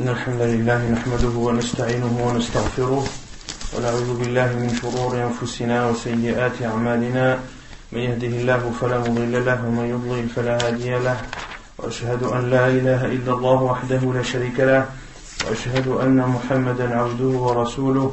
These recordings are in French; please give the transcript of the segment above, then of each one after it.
إن الحمد لله نحمده ونستعينه ونستغفره ونعوذ بالله من شرور أنفسنا وسيئات أعمالنا من يهده الله فلا مضل له ومن يضلل فلا هادي له وأشهد أن لا إله إلا الله وحده لا شريك له وأشهد أن محمدا عبده ورسوله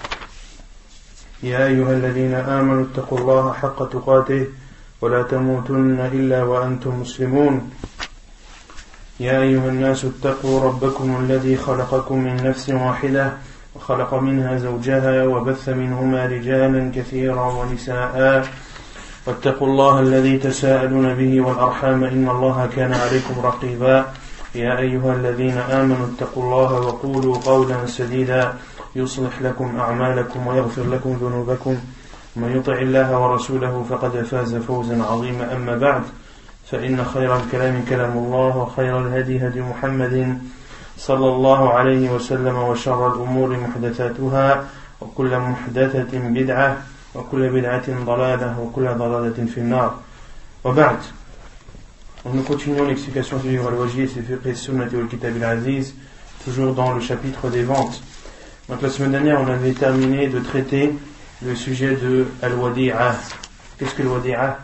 يا أيها الذين آمنوا اتقوا الله حق تقاته ولا تموتن إلا وأنتم مسلمون يا أيها الناس اتقوا ربكم الذي خلقكم من نفس واحدة وخلق منها زوجها وبث منهما رجالا كثيرا ونساء واتقوا الله الذي تساءلون به والأرحام إن الله كان عليكم رقيبا يا أيها الذين آمنوا اتقوا الله وقولوا قولا سديدا يصلح لكم أعمالكم ويغفر لكم ذنوبكم ومن يطع الله ورسوله فقد فاز فوزا عظيما أما بعد فإن خير الكلام كلام الله وخير الهدي هدي محمد صلى الله عليه وسلم وشر الأمور محدثاتها وكل محدثة بدعة وكل بدعة ضلالة وكل ضلالة في النار وبعد. Nous continuons l'explication du livre Al-Wajid, c'est Fiqh Sunnah wal Kitab al-Aziz, toujours dans le chapitre des ventes. Donc la semaine dernière, on avait terminé de traiter le sujet de Al-Wadi'a. Qu'est-ce que Al-Wadi'a?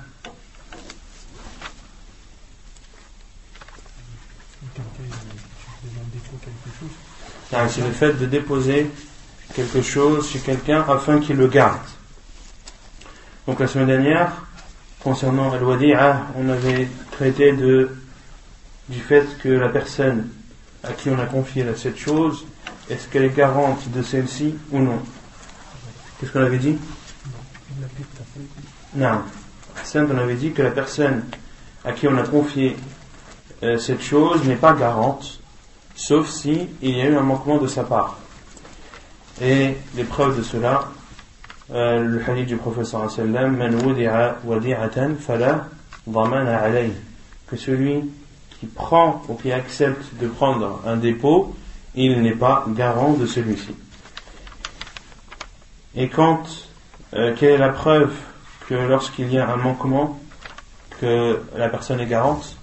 C'est le fait de déposer quelque chose chez quelqu'un afin qu'il le garde. Donc la semaine dernière, concernant Al-Wadi'a, on avait traité du fait que la personne à qui on a confié cette chose, est-ce qu'elle est garante de celle-ci ou non? Qu'est-ce qu'on avait dit? Non. On avait dit que la personne à qui on a confié cette chose n'est pas garante, sauf si il y a eu un manquement de sa part. Et les preuves de cela, le hadith du prophète sallallahu alayhi wa sallam, man wudi'a wadi'atan fala dhamana alayhi, que celui qui prend ou qui accepte de prendre un dépôt, il n'est pas garant de celui-ci. Et quelle est la preuve que lorsqu'il y a un manquement, que la personne est garante?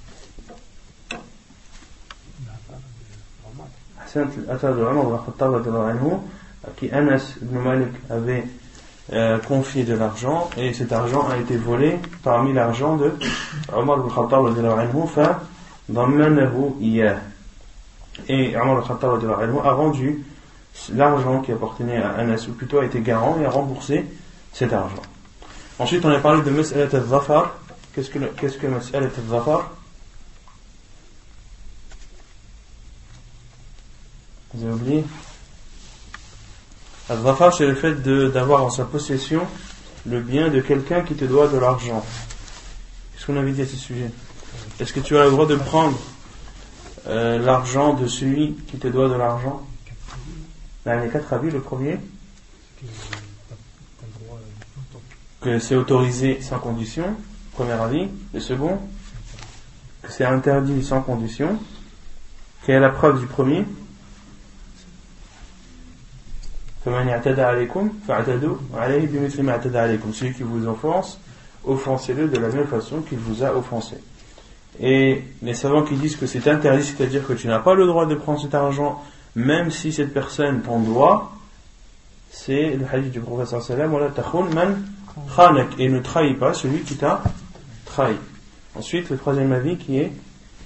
À qui Anas ibn Malik avait confié de l'argent, et cet argent a été volé parmi l'argent de Omar ibn Khattab fa dammanahu iyah. Et Omar ibn Khattab a rendu l'argent qui appartenait à Anas, ou plutôt a été garant et a remboursé cet argent. Ensuite, on a parlé de Mas'alat al-Dhafar. Qu'est-ce que Mas'alat al-Dhafar? Vous avez oublié? Al-Dhafar, c'est le fait d'avoir en sa possession le bien de quelqu'un qui te doit de l'argent. Qu'est-ce qu'on avait dit à ce sujet? Est-ce que tu as le droit de prendre l'argent de celui qui te doit de l'argent? Là, les 4 avis. Le premier, que c'est autorisé sans condition. Premier avis. Le second, que c'est interdit sans condition. Quelle est la preuve du premier? Celui qui vous offense, offensez-le de la même façon qu'il vous a offensé. Et les savants qui disent que c'est interdit, c'est-à-dire que tu n'as pas le droit de prendre cet argent même si cette personne t'en doit, c'est le hadith du prophète sallallahu alayhi wa sallam, et ne trahis pas celui qui t'a trahi. Ensuite, le troisième avis qui est,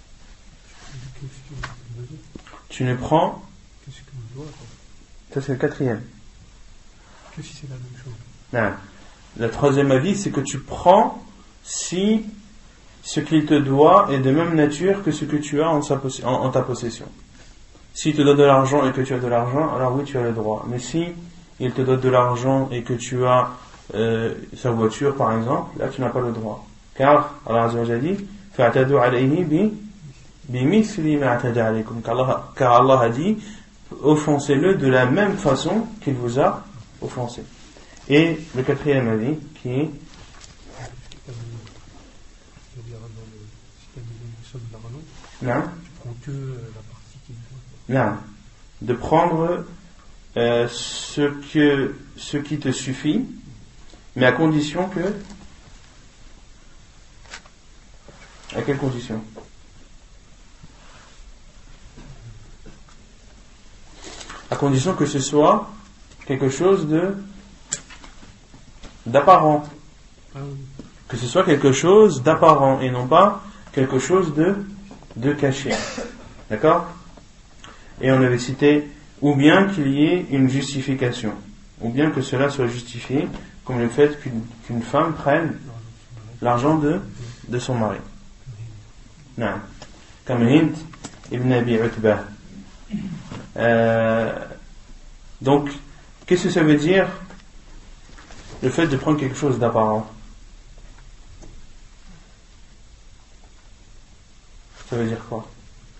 tu ne prends, ça c'est le quatrième. Que si c'est la même chose. Non. Le troisième avis, c'est que tu prends si ce qu'il te doit est de même nature que ce que tu as en ta possession. S'il te donne de l'argent et que tu as de l'argent, alors oui, tu as le droit. Mais si il te donne de l'argent et que tu as sa voiture, par exemple, là tu n'as pas le droit. Car Allah Azza wa Jalla dit fa'tadu alayhi bimithli ma atada alaykum. Car Allah a dit offensez-le de la même façon qu'il vous a offensé. Et le quatrième avis qui est non, non, de prendre ce qui te suffit, mais à condition que, à quelle condition? à condition que ce soit quelque chose d'apparent. Que ce soit quelque chose d'apparent et non pas quelque chose de caché. D'accord? Et on avait cité, ou bien qu'il y ait une justification, ou bien que cela soit justifié, comme le fait qu'une femme prenne l'argent de son mari. Non. Comme Hind ibn Abi Utbah. Donc, qu'est-ce que ça veut dire, le fait de prendre quelque chose d'apparent? Ça veut dire quoi?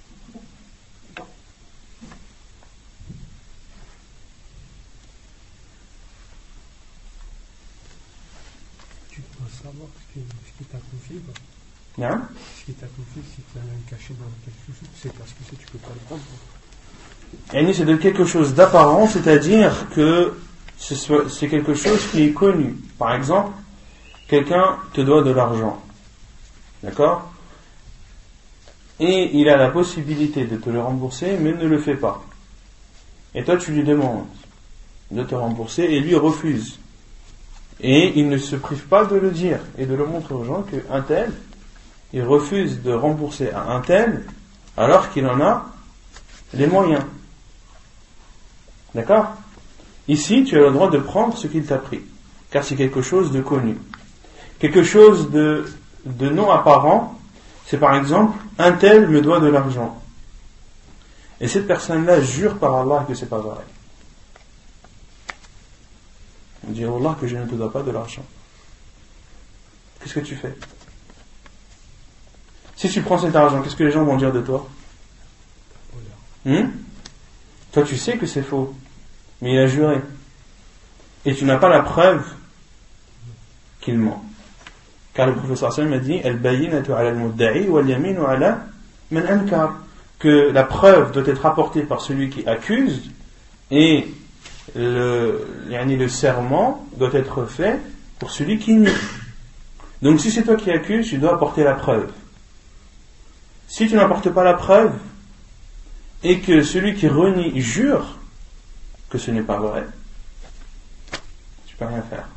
Tu dois savoir ce qui t'a confié. Hein? Ce qui t'a confié, si tu as caché dans quelque chose, c'est parce que tu peux pas le prendre. Et c'est de quelque chose d'apparent, c'est-à-dire que c'est quelque chose qui est connu. Par exemple, quelqu'un te doit de l'argent. D'accord? Et il a la possibilité de te le rembourser, mais ne le fait pas. Et toi, tu lui demandes de te rembourser, et lui refuse. Et il ne se prive pas de le dire, et de le montrer aux gens qu'un tel, il refuse de rembourser à un tel, alors qu'il en a les moyens. D'accord? Ici, tu as le droit de prendre ce qu'il t'a pris, car c'est quelque chose de connu. Quelque chose de non apparent, c'est par exemple, un tel me doit de l'argent. Et cette personne-là jure par Allah que c'est pas vrai. On dit, Allah, que je ne te dois pas de l'argent. Qu'est-ce que tu fais? Si tu prends cet argent, qu'est-ce que les gens vont dire de toi? Toi, tu sais que c'est faux, mais il a juré. Et tu n'as pas la preuve qu'il ment. Car le professeur Sallam a dit Al-bayyinatu ala al-mudda'i wal-yaminu ala man ankar, que la preuve doit être apportée par celui qui accuse et le serment doit être fait pour celui qui nie. Donc si c'est toi qui accuses, tu dois apporter la preuve. Si tu n'apportes pas la preuve et que celui qui renie jure que ce n'est pas vrai, tu peux rien faire.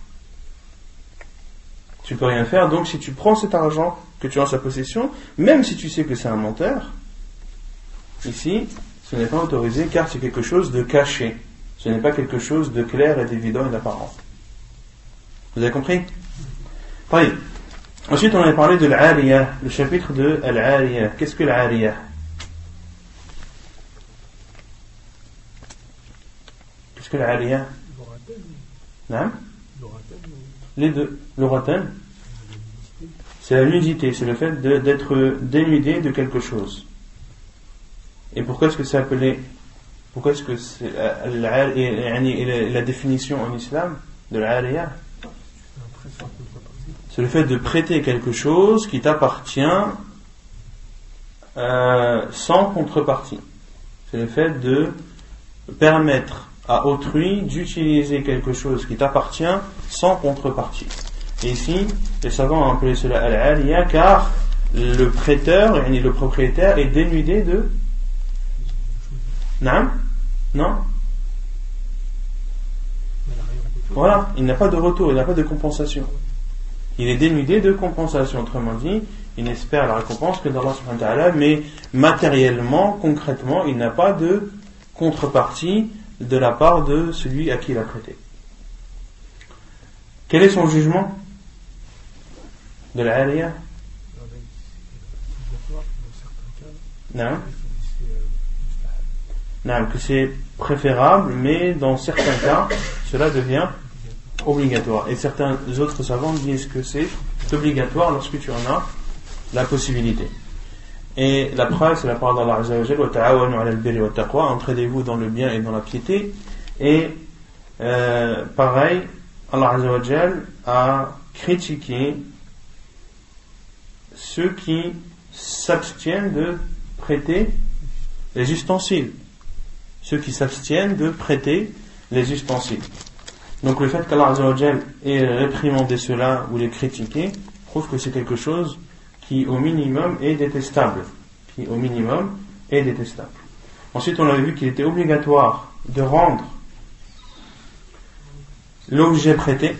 Tu peux rien faire, donc si tu prends cet argent que tu as en sa possession, même si tu sais que c'est un menteur, ici, ce n'est pas autorisé car c'est quelque chose de caché. Ce n'est pas quelque chose de clair et d'évident et d'apparent. Vous avez compris? Oui. Ensuite, on avait parlé de l'Ariyah, le chapitre de l'Ariyah. Qu'est-ce que l'Ariyah? Qu'est-ce que l'Ariyah? Non? Les deux. L'Uratan, c'est la nudité, c'est le fait d'être dénudé de quelque chose. Et pourquoi est-ce que c'est appelé, pourquoi est-ce que c'est la définition en islam de l'Ariyah? C'est le fait de prêter quelque chose qui t'appartient sans contrepartie. C'est le fait de permettre à autrui d'utiliser quelque chose qui t'appartient sans contrepartie. Et ici, les savants ont appelé cela al-aliyah car le prêteur, le propriétaire, est dénudé de... Non? Voilà, il n'a pas de retour, il n'a pas de compensation. Il est dénudé de compensation, autrement dit, il n'espère la récompense que d'Allah subhanahu wa ta'ala, mais matériellement, concrètement, il n'a pas de contrepartie de la part de celui à qui il a prêté. Quel est son jugement de l'Aliyah? Non, que c'est préférable, mais dans certains cas, cela devient obligatoire. Et certains autres savants disent que c'est obligatoire lorsque tu en as la possibilité. Et la preuve, c'est la parole d'Allah Azza wa Jalla, wa ta'awanu 'ala al-birri wa taqwa, entraidez-vous dans le bien et dans la piété. Et pareil, Allah Azza wa Jalla a critiqué ceux qui s'abstiennent de prêter les ustensiles. Ceux qui s'abstiennent de prêter les ustensiles. Donc le fait qu'Allah Azza wa Jalla ait réprimandé cela ou les critiqué prouve que c'est quelque chose qui au minimum est détestable. Ensuite, on avait vu qu'il était obligatoire de rendre l'objet prêté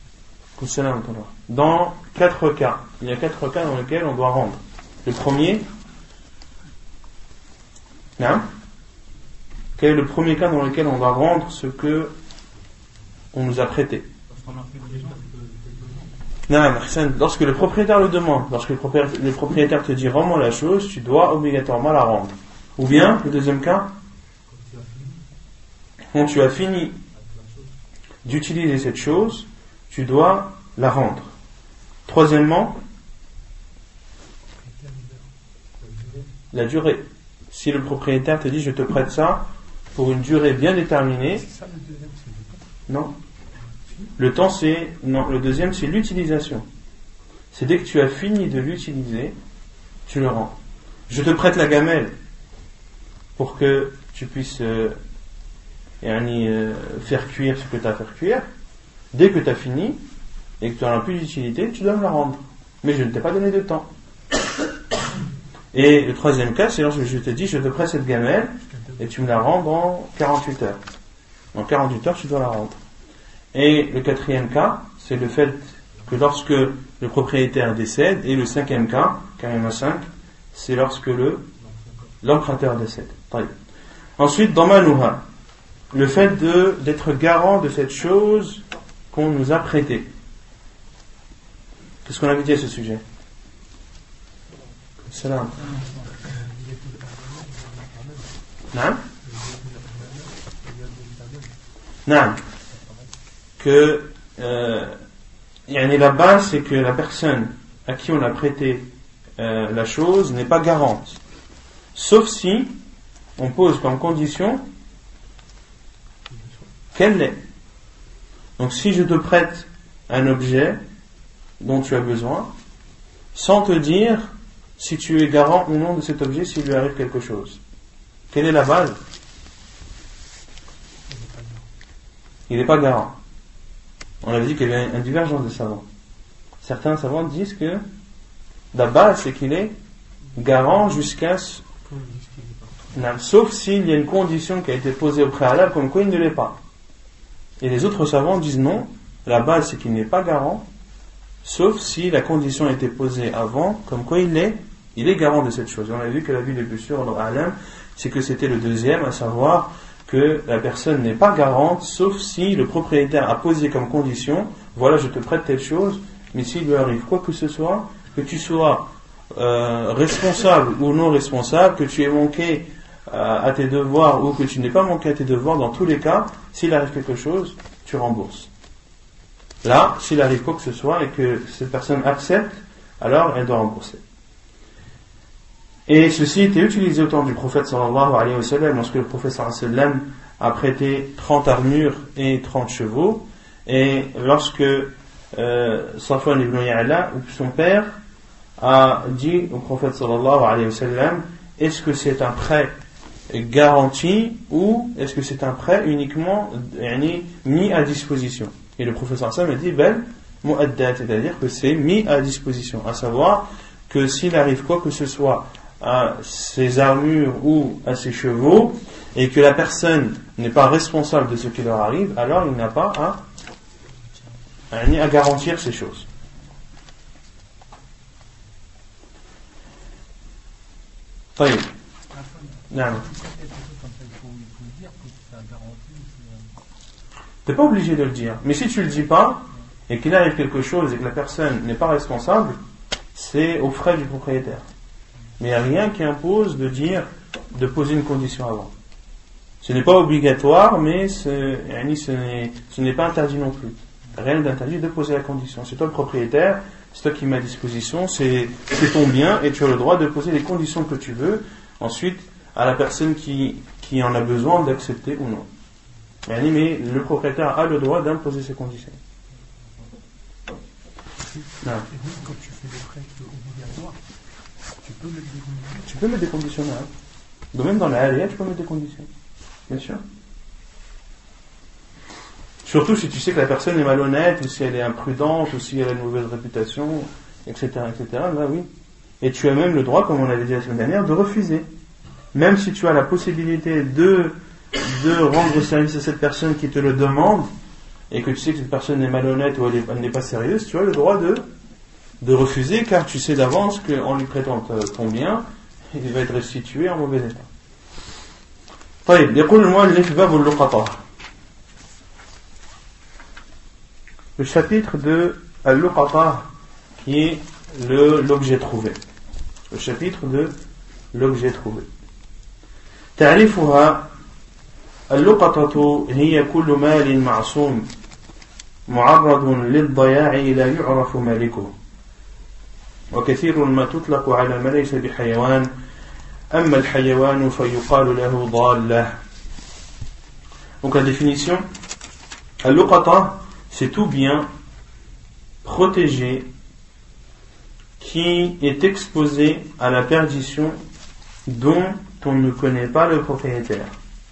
dans 4 cas. Il y a 4 cas dans lesquels on doit rendre. Le premier, quel est le premier cas dans lequel on doit rendre ce que on nous a prêté? Lorsque le propriétaire le demande, lorsque le propriétaire te dit rends-moi la chose, tu dois obligatoirement la rendre. Ou bien, le deuxième cas, quand tu as fini d'utiliser cette chose, tu dois la rendre. Troisièmement, la durée. Si le propriétaire te dit je te prête ça pour une durée bien déterminée, non. Le temps c'est non. Le deuxième c'est l'utilisation. C'est dès que tu as fini de l'utiliser, tu le rends. Je te prête la gamelle pour que tu puisses faire cuire ce que tu as à faire cuire. Dès que tu as fini et que tu n'en as plus d'utilité, tu dois me la rendre. Mais je ne t'ai pas donné de temps. Et le troisième cas, c'est lorsque je te dis je te prête cette gamelle et tu me la rends dans 48 heures. Dans 48 heures, tu dois la rendre. Et le quatrième cas, c'est le fait que lorsque le propriétaire décède. Et le cinquième cas, car il y en a 5, c'est lorsque l'emprunteur décède. Ensuite, dans Manouha, le fait d'être garant de cette chose qu'on nous a prêtée. Qu'est-ce qu'on avait dit à ce sujet? Salam. Naam. Que la base, c'est que la personne à qui on a prêté la chose n'est pas garante. Sauf si on pose comme condition qu'elle l'est. Donc si je te prête un objet dont tu as besoin, sans te dire si tu es garant ou non de cet objet s'il lui arrive quelque chose. Quelle est la base? Il n'est pas garant. On avait dit qu'il y avait une divergence de savants. Certains savants disent que la base c'est qu'il est garant jusqu'à sauf s'il y a une condition qui a été posée au préalable comme quoi il ne l'est pas. Et les autres savants disent non, la base c'est qu'il n'est pas garant sauf si la condition a été posée avant comme quoi il est garant de cette chose. On a vu que la vie le plus sûr c'est que c'était le deuxième, à savoir que la personne n'est pas garante sauf si le propriétaire a posé comme condition voilà je te prête telle chose, mais s'il lui arrive quoi que ce soit, que tu sois responsable ou non responsable, que tu aies manqué à tes devoirs ou que tu n'aies pas manqué à tes devoirs, dans tous les cas, s'il arrive quelque chose, tu rembourses. Là, s'il arrive quoi que ce soit et que cette personne accepte, alors elle doit rembourser. Et ceci était utilisé au temps du prophète sallallahu alayhi wa sallam, lorsque le prophète sallallahu alayhi wa sallam a prêté 30 armures et 30 chevaux, et lorsque Safwan ibn Ya'la, son père, a dit au prophète sallallahu alayhi wa sallam, est-ce que c'est un prêt garanti ou est-ce que c'est un prêt uniquement mis à disposition? Et le prophète sallallahu alayhi wa sallam a dit bel mu'addat, c'est-à-dire que c'est mis à disposition, à savoir que s'il arrive quoi que ce soit à ses armures ou à ses chevaux et que la personne n'est pas responsable de ce qui leur arrive, alors il n'a pas à garantir ces choses. طيب. Non. T'es pas obligé de le dire, mais si tu le dis pas et qu'il arrive quelque chose et que la personne n'est pas responsable, c'est aux frais du propriétaire. Mais il n'y a rien qui impose de poser une condition avant. Ce n'est pas obligatoire, mais ce n'est pas interdit non plus. Rien d'interdit de poser la condition. C'est toi le propriétaire, c'est toi qui mets à disposition, c'est ton bien et tu as le droit de poser les conditions que tu veux. Ensuite, à la personne qui en a besoin d'accepter ou non. Mais le propriétaire a le droit d'imposer ses conditions. Non. Et même quand tu fais des prêts obligatoires, tu peux mettre des conditions. Donc même dans la halal, tu peux mettre des conditions. Bien sûr. Surtout si tu sais que la personne est malhonnête, ou si elle est imprudente, ou si elle a une mauvaise réputation, etc. Là oui. Et tu as même le droit, comme on l'avait dit la semaine dernière, de refuser. même si tu as la possibilité de rendre service à cette personne qui te le demande, et que tu sais que cette personne est malhonnête ou elle n'est pas sérieuse, tu as le droit de refuser, car tu sais d'avance qu'en lui prêtant ton bien, il va être restitué en mauvais état. طيب يقول المؤلف باب اللقطة. Le chapitre de al-luqata, qui est l'objet trouvé. Le chapitre de l'objet trouvé. تعريفها: اللقطة هي كل مال معصوم معرض للضياع لا يعرف مالكه، وكثير ما تطلق على ما ليس بحيوان، أما الحيوان فيقال له ضالة. Donc la définition: al-luqata, c'est tout bien protégé qui est exposé à la perdition dont on ne connaît pas le propriétaire.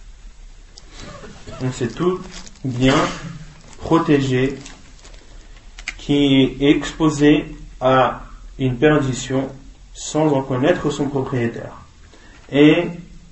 Donc c'est tout bien protégé qui est exposé à une perdition sans en connaître son propriétaire. Et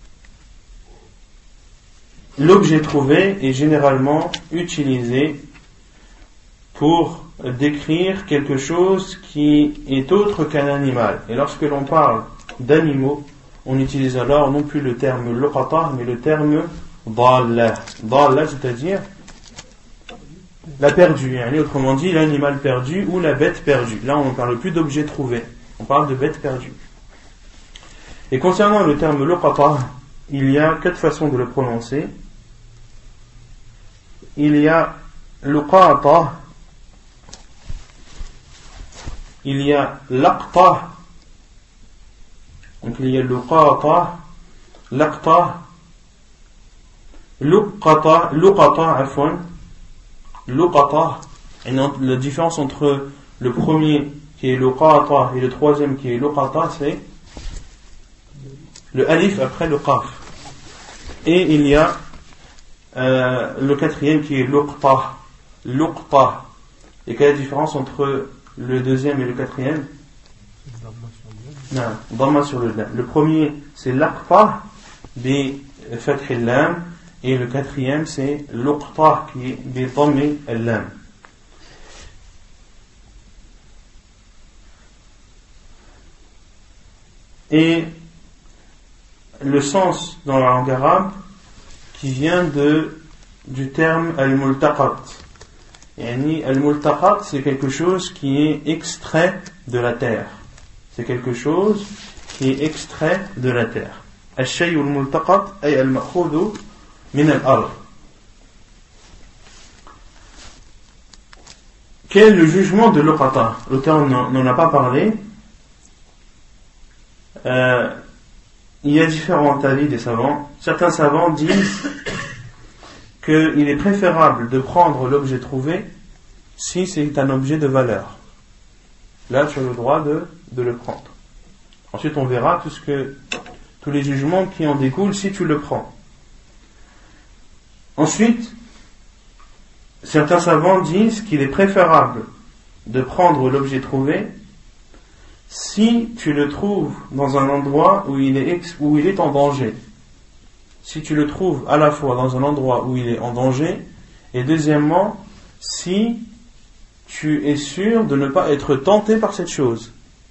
l'objet trouvé est généralement utilisé pour décrire quelque chose qui est autre qu'un animal. Et lorsque l'on parle d'animaux, on utilise alors non plus le terme luqata, mais le terme dalla. Dalla, c'est-à-dire la perdue, autrement dit l'animal perdu ou la bête perdue. Là, on ne parle plus d'objet trouvé, on parle de bête perdue. Et concernant le terme luqata, il y a 4 façons de le prononcer. Il y a luqata, il y a laqta, donc il y a luqata, laqta, luqata, afwan, luqata. Et la différence entre le premier qui est luqata et le troisième qui est luqata, c'est le alif après le qaf. Et il y a le quatrième qui est luqta. Et quelle est la différence entre le deuxième et le quatrième? Non, dhamma sur le lam. Le premier c'est laqta bi fath al-lam, et le quatrième c'est luqta qui est bi dhammi al-lam. Et le sens dans la langue arabe qui vient du terme al-multaqat. Yani al-multaqat, c'est quelque chose qui est extrait de la terre. C'est quelque chose qui est extrait de la terre. Al-shay'u al-multaqat ay al-ma'khudhu min al-ard. Quel est le jugement de luqata? L'auteur n'en a pas parlé. Il y a différents avis des savants. Certains savants disent qu'il est préférable de prendre l'objet trouvé si c'est un objet de valeur. Là, tu as le droit de le prendre. Ensuite, on verra tous les jugements qui en découlent si tu le prends. Ensuite, certains savants disent qu'il est préférable de prendre l'objet trouvé si tu le trouves dans un endroit où il est en danger. Si tu le trouves à la fois dans un endroit où il est en danger, et deuxièmement, si tu es sûr de ne pas être tenté par cette chose.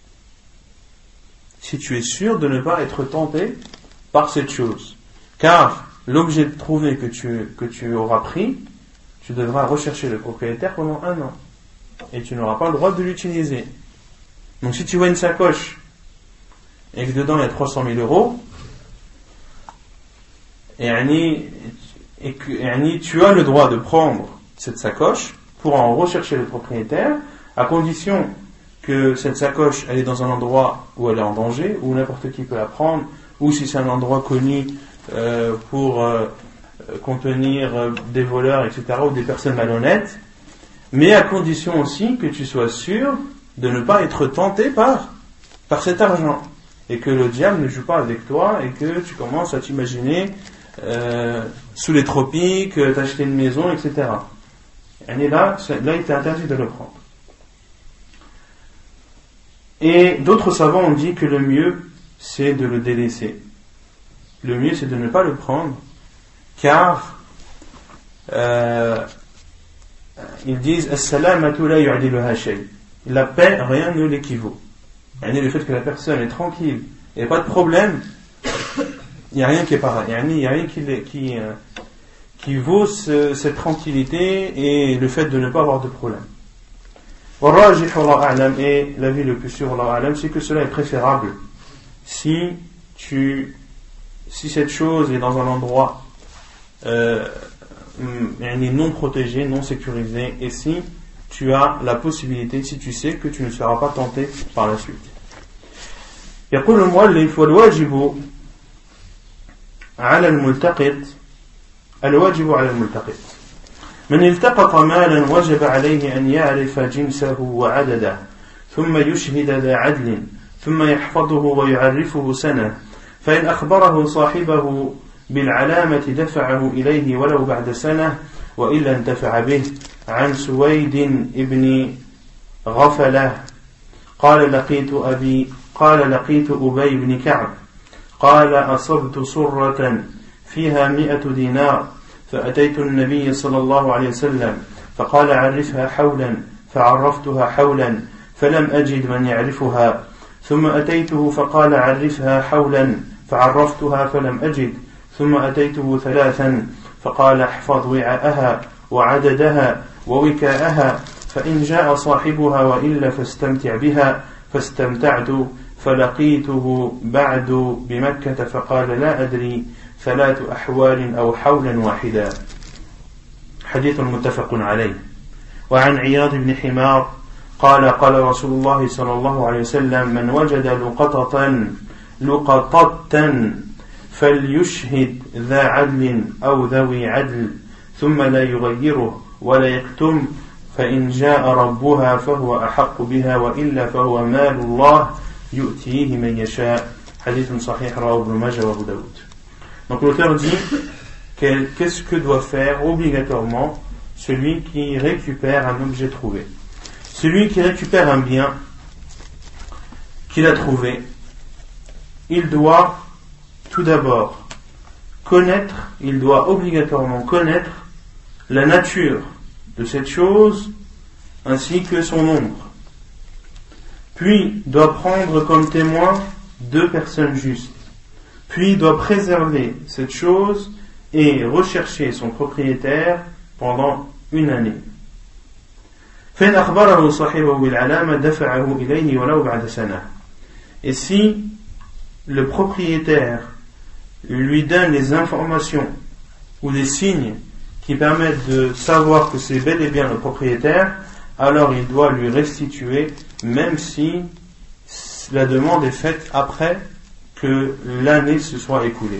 Si tu es sûr de ne pas être tenté par cette chose. Car l'objet trouvé que tu auras pris, tu devras rechercher le propriétaire pendant 1 an. Et tu n'auras pas le droit de l'utiliser. Donc si tu vois une sacoche et que dedans il y a 300 000 euros, et tu as le droit de prendre cette sacoche pour en rechercher le propriétaire, à condition que cette sacoche elle est dans un endroit où elle est en danger, où n'importe qui peut la prendre, ou si c'est un endroit connu pour contenir des voleurs, etc., ou des personnes malhonnêtes, mais à condition aussi que tu sois sûr de ne pas être tenté par cet argent, et que le diable ne joue pas avec toi, et que tu commences à t'imaginer sous les tropiques, t'acheter une maison, etc. Et là, il est interdit de le prendre. Et d'autres savants ont dit que le mieux, c'est de le délaisser. le mieux c'est de ne pas le prendre, car ils disent as-salamatu la yu'diluha shay. La paix, rien ne l'équivaut. Le fait que la personne est tranquille, il n'y a pas de problème, il n'y a rien qui est pareil. Il n'y a rien qui vaut cette tranquillité et le fait de ne pas avoir de problème. Et l'avis le plus sûr, c'est que cela est préférable si cette chose est dans un endroit non protégé, non sécurisé, et si tu as la possibilité, si tu sais que tu ne seras pas tenté par la suite. يقول المؤلف والواجب على الملتقط من التقط مالا وجب عليه أن يعرف جنسه وعدده ثم يشهد ذا عدل ثم يحفظه ويعرفه سنة فإن أخبره صاحبه بالعلامة دفعه إليه ولو بعد سنة وإلا انتفع به. عن سويد ابن غفلة قال لقيت أبي بن كعب قال أصبت صرة فيها 100 دينار فأتيت النبي صلى الله عليه وسلم فقال عرفها حولا فعرفتها حولا فلم أجد من يعرفها ثم أتيته فقال عرفها حولا فعرفتها فلم أجد ثم أتيته 3 فقال احفظ وعاءها وعددها ووكاءها فإن جاء صاحبها وإلا فاستمتع بها فاستمتعت فلقيته بعد بمكة فقال لا أدري 3 أحوال أو حولا واحدا. حديث متفق عليه. وعن عياض بن حمار قال رسول الله صلى الله عليه وسلم من وجد لقطة فليشهد ذا عدل أو ذوي عدل ثم لا يغيره ولا يكتم فإن جاء ربها فهو أحق بها وإلا فهو مال الله يؤتيه من يشاء. حديث صحيح رواه ابن ماجه وابو داود. Donc l'auteur dit qu'est-ce que doit faire obligatoirement celui qui récupère un objet trouvé. Celui qui récupère un bien qu'il a trouvé, il doit tout d'abord il doit obligatoirement connaître la nature de cette chose ainsi que son nombre. Puis doit prendre comme témoin 2 personnes justes. Puis doit préserver cette chose et rechercher son propriétaire pendant 1 année. Et si le propriétaire lui donne les informations ou des signes qui permettent de savoir que c'est bel et bien le propriétaire, alors il doit lui restituer, même si la demande est faite après que l'année se soit écoulée.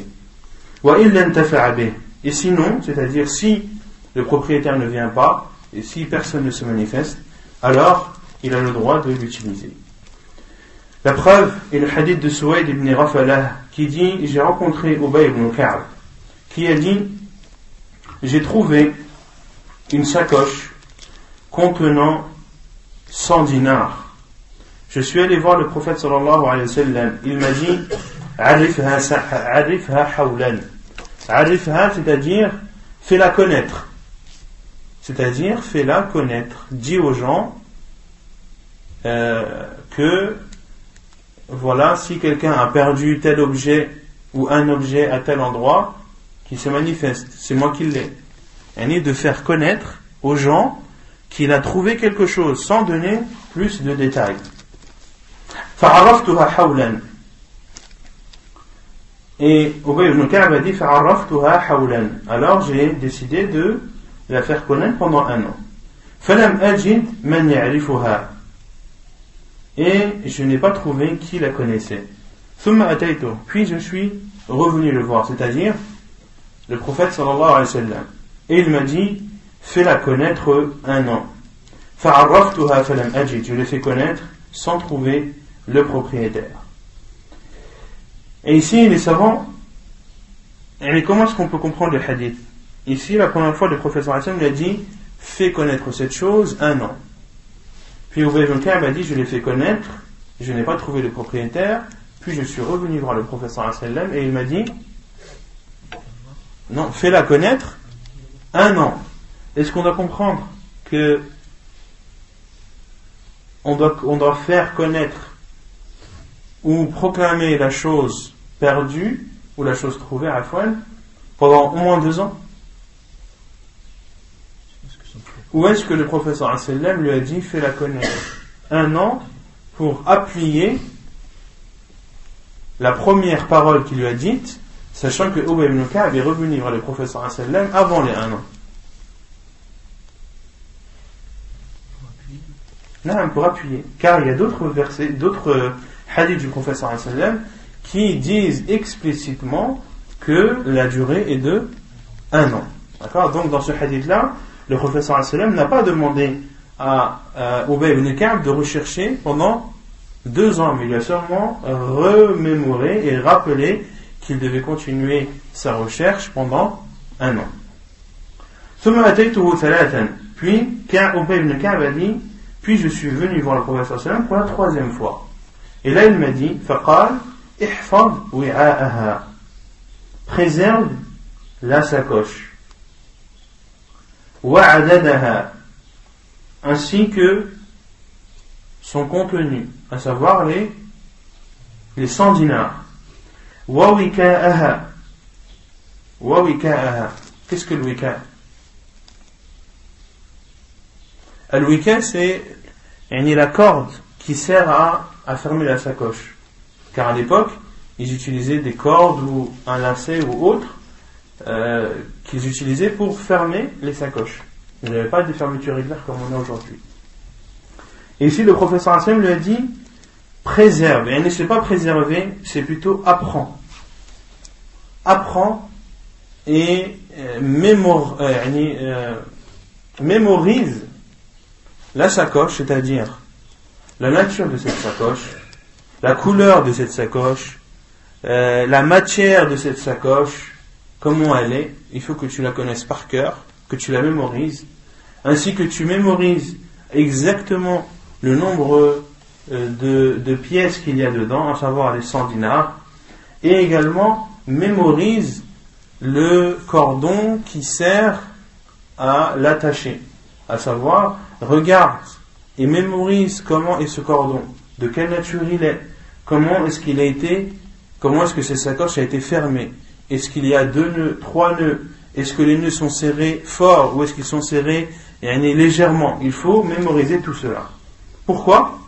Et sinon, c'est-à-dire si le propriétaire ne vient pas et si personne ne se manifeste, alors il a le droit de l'utiliser. La preuve est le hadith de Suwayd ibn Ghafalah qui dit: j'ai rencontré Ubay ibn Ka'b qui a dit: j'ai trouvé une sacoche contenant 100 dinars. Je suis allé voir le prophète sallallahu alayhi wa sallam. Il m'a dit: Arifha hawlan. Arifha, c'est-à-dire fais-la connaître. C'est-à-dire fais-la connaître. Dis aux gens que voilà, si quelqu'un a perdu tel objet ou un objet à tel endroit, qu'il se manifeste, c'est moi qui l'ai. Et de faire connaître aux gens qu'il a trouvé quelque chose sans donner plus de détails. فعرفتها حولا. Et Ubay ibn Ka'b a dit فعرفتها حولا. Alors j'ai décidé de la faire connaître pendant 1 an. فلم أجد من يعرفها. Et je n'ai pas trouvé qui la connaissait. ثم أتيته. Puis je suis revenu le voir, c'est-à-dire le prophète sallallahu alayhi wa sallam. Et il m'a dit: fais-la connaître 1 an. فعرفتها فلم أجد. Je l'ai fait connaître sans trouver le propriétaire. Et ici, les savants, comment est-ce qu'on peut comprendre le hadith? Ici, la première fois, le prophète sallallahu alayhi wa sallam a dit: fais connaître cette chose 1 an. Puis Ubay ibn Ka'b a dit: je l'ai fait connaître, je n'ai pas trouvé le propriétaire, puis je suis revenu voir le prophète sallallahu alayhi wa sallam et il m'a dit: Non, fais-la connaître 1 an. Est-ce qu'on doit comprendre que on doit faire connaître ou proclamer la chose perdue ou la chose trouvée à Fouane pendant au moins 2 ans? Ou est-ce que le professeur sallam lui a dit fais-la connaître 1 an pour appuyer la première parole qu'il lui a dite, sachant que Ubay ibn Ka'b est revenu vers le professeur sallam avant les 1 an? Non, pour appuyer, car il y a d'autres versets, d'autres hadiths du professeur sallam qui disent explicitement que la durée est de 1 an. D'accord? Donc dans ce hadith-là, le professeur sallam n'a pas demandé à Ubay ibn Ka'b de rechercher pendant 2 ans, mais il a seulement remémoré et rappelé qu'il devait continuer sa recherche pendant 1 an. Puis, quand Ubay ibn Ka'b a dit, puis je suis venu voir le professeur sallam pour la 3e fois. Et là il m'a dit, faqal ihfaz wi'a'aha, préserve la sacoche, wa'adadaha, ainsi que son contenu, à savoir les 100 dinars, wa wika'aha. Qu'est-ce que le wika'? Le wika', c'est la corde qui sert à fermer la sacoche. Car à l'époque, ils utilisaient des cordes ou un lacet ou autre qu'ils utilisaient pour fermer les sacoches. Il n'y avait pas de fermeture régulière comme on a aujourd'hui. Et ici, le professeur Hassan lui a dit préserve. Et c'est pas préserver, c'est plutôt apprends. Apprends et mémorise la sacoche, c'est-à-dire la nature de cette sacoche, la couleur de cette sacoche, la matière de cette sacoche, comment elle est. Il faut que tu la connaisses par cœur, que tu la mémorises, ainsi que tu mémorises exactement le nombre de pièces qu'il y a dedans, à savoir les 100 dinars, et également mémorise le cordon qui sert à l'attacher, à savoir regarde et mémorise comment est ce cordon, de quelle nature il est, comment est-ce que cette sacoche a été fermée, est-ce qu'il y a 2 nœuds, 3 nœuds, est-ce que les nœuds sont serrés fort ou est-ce qu'ils sont serrés légèrement. Il faut mémoriser tout cela. Pourquoi?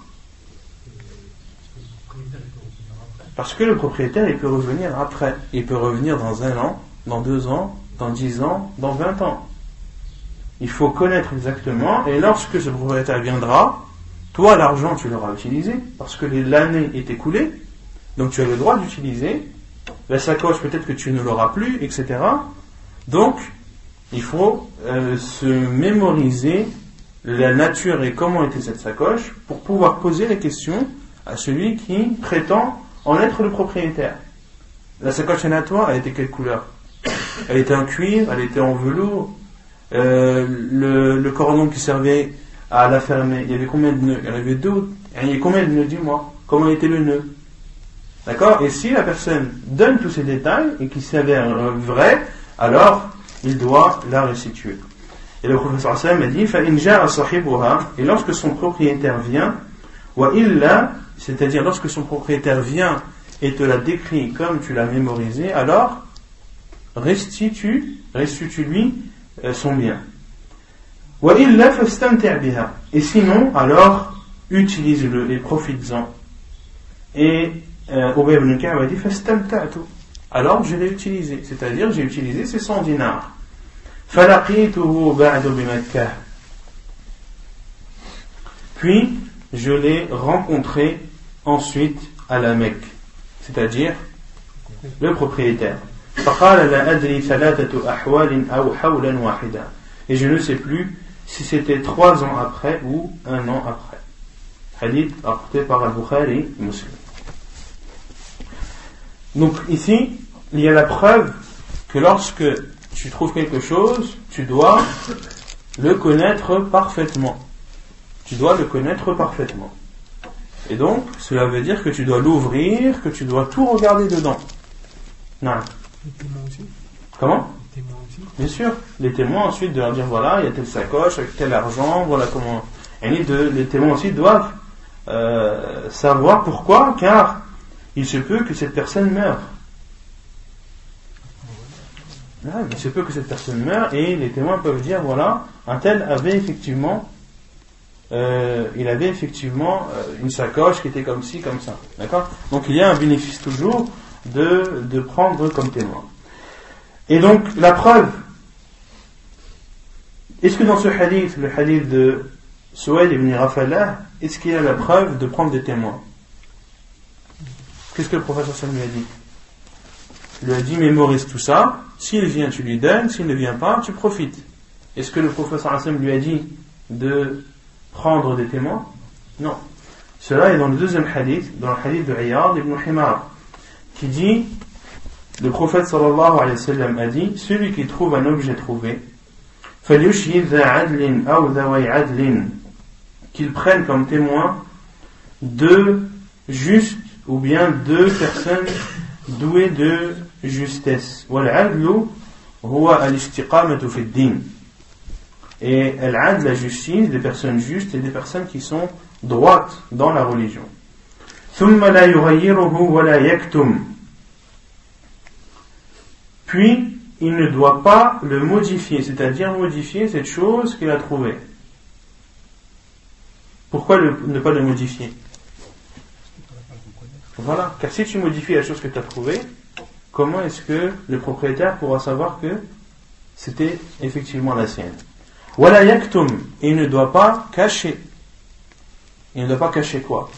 Parce que le propriétaire, il peut revenir après. Il peut revenir dans 1 an, dans 2 ans, dans 10 ans, dans 20 ans. Il faut connaître exactement, et lorsque ce propriétaire viendra, toi, l'argent, tu l'auras utilisé, parce que l'année est écoulée, donc tu as le droit d'utiliser. La sacoche, peut-être que tu ne l'auras plus, etc. Donc, il faut se mémoriser la nature et comment était cette sacoche pour pouvoir poser la question à celui qui prétend en être le propriétaire. La sacoche à toi, elle était quelle couleur? Elle était en cuir, elle était en velours. Le cordon qui servait à la fermer, il y avait combien de nœuds? Il y en avait 2. Il y a combien de nœuds? Dis-moi. Comment était le nœud? D'accord? Et si la personne donne tous ces détails et qui s'avère vrai, alors il doit la restituer. Et le professeur Hassan m'a dit فَإِنْ جَاءَ صَاحِبُهَا, et lorsque son propriétaire vient, وَإِلَّا, c'est-à-dire lorsque son propriétaire vient et te l'a décrit comme tu l'as mémorisé, alors restitue-lui son bien. وَإِلَّا فَاسْتَمْتِعْ بِهَا, et sinon, alors utilise-le et profites-en. Et Ubay ibn Ka'b a dit فَاسْتَمْتَعْتُ, alors je l'ai utilisé, c'est-à-dire j'ai utilisé ces 100 dinars. فَلَقِيتُهُ بَعْدُ بِمَكَّةٍ, puis je l'ai rencontré ensuite à la Mecque, c'est-à-dire le propriétaire. فَقَالَ لَا أَدْرِي ثَلَاثَةُ أَحْوَالٍ أَوْ حَوْلًا وَاحِدًا, et je ne sais plus si c'était 3 ans après ou 1 an après. Hadith rapporté par Al-Bukhari et Muslim. Donc ici, il y a la preuve que lorsque tu trouves quelque chose, tu dois le connaître parfaitement. Tu dois le connaître parfaitement. Et donc, cela veut dire que tu dois l'ouvrir, que tu dois tout regarder dedans. Non. Les témoins aussi. Comment? Les témoins aussi. Bien sûr, les témoins ensuite de leur dire voilà, il y a telle sacoche avec tel argent, voilà comment. Et les témoins aussi doivent savoir pourquoi, car il se peut que cette personne meure. Il se peut que cette personne meure et les témoins peuvent dire voilà, un tel avait effectivement une sacoche qui était comme ci, comme ça. D'accord ? Donc il y a un bénéfice toujours de prendre comme témoin. Et donc la preuve, est-ce que dans ce hadith, le hadith de Suwayd ibn Rafalah, est-ce qu'il y a la preuve de prendre des témoins? Qu'est-ce que le professeur Sam lui a dit? Il lui a dit mémorise tout ça, s'il vient tu lui donnes, s'il ne vient pas tu profites. Est-ce que le professeur Sam lui a dit de prendre des témoins? Non. Cela est dans le deuxième hadith, dans le hadith de Iyad ibn Himar, qui dit, le prophète sallallahu alayhi wa sallam a dit, celui qui trouve un objet trouvé, فَلْيُشْهِدْ ذَا عَدْلٍ أَوْ ذَوَيْ عَدْلٍ, qu'il prenne comme témoin deux justes ou bien deux personnes douées de justesse. وَالْعَدْلُ هُوَ الْإِسْتِقَامَةُ فِي الدِّينِ. Et al-adl, la justice, des personnes justes et des personnes qui sont droites dans la religion. ثُمَّ لَا يُغَيِّرُهُ وَلَا يَكْتُمْ. Puis, il ne doit pas le modifier, c'est-à-dire modifier cette chose qu'il a trouvée. Pourquoi ne pas le modifier? Voilà, car si tu modifies la chose que tu as trouvée, comment est-ce que le propriétaire pourra savoir que c'était effectivement la sienne? Wala yaktum, il ne doit pas cacher. Il ne doit pas cacher quoi?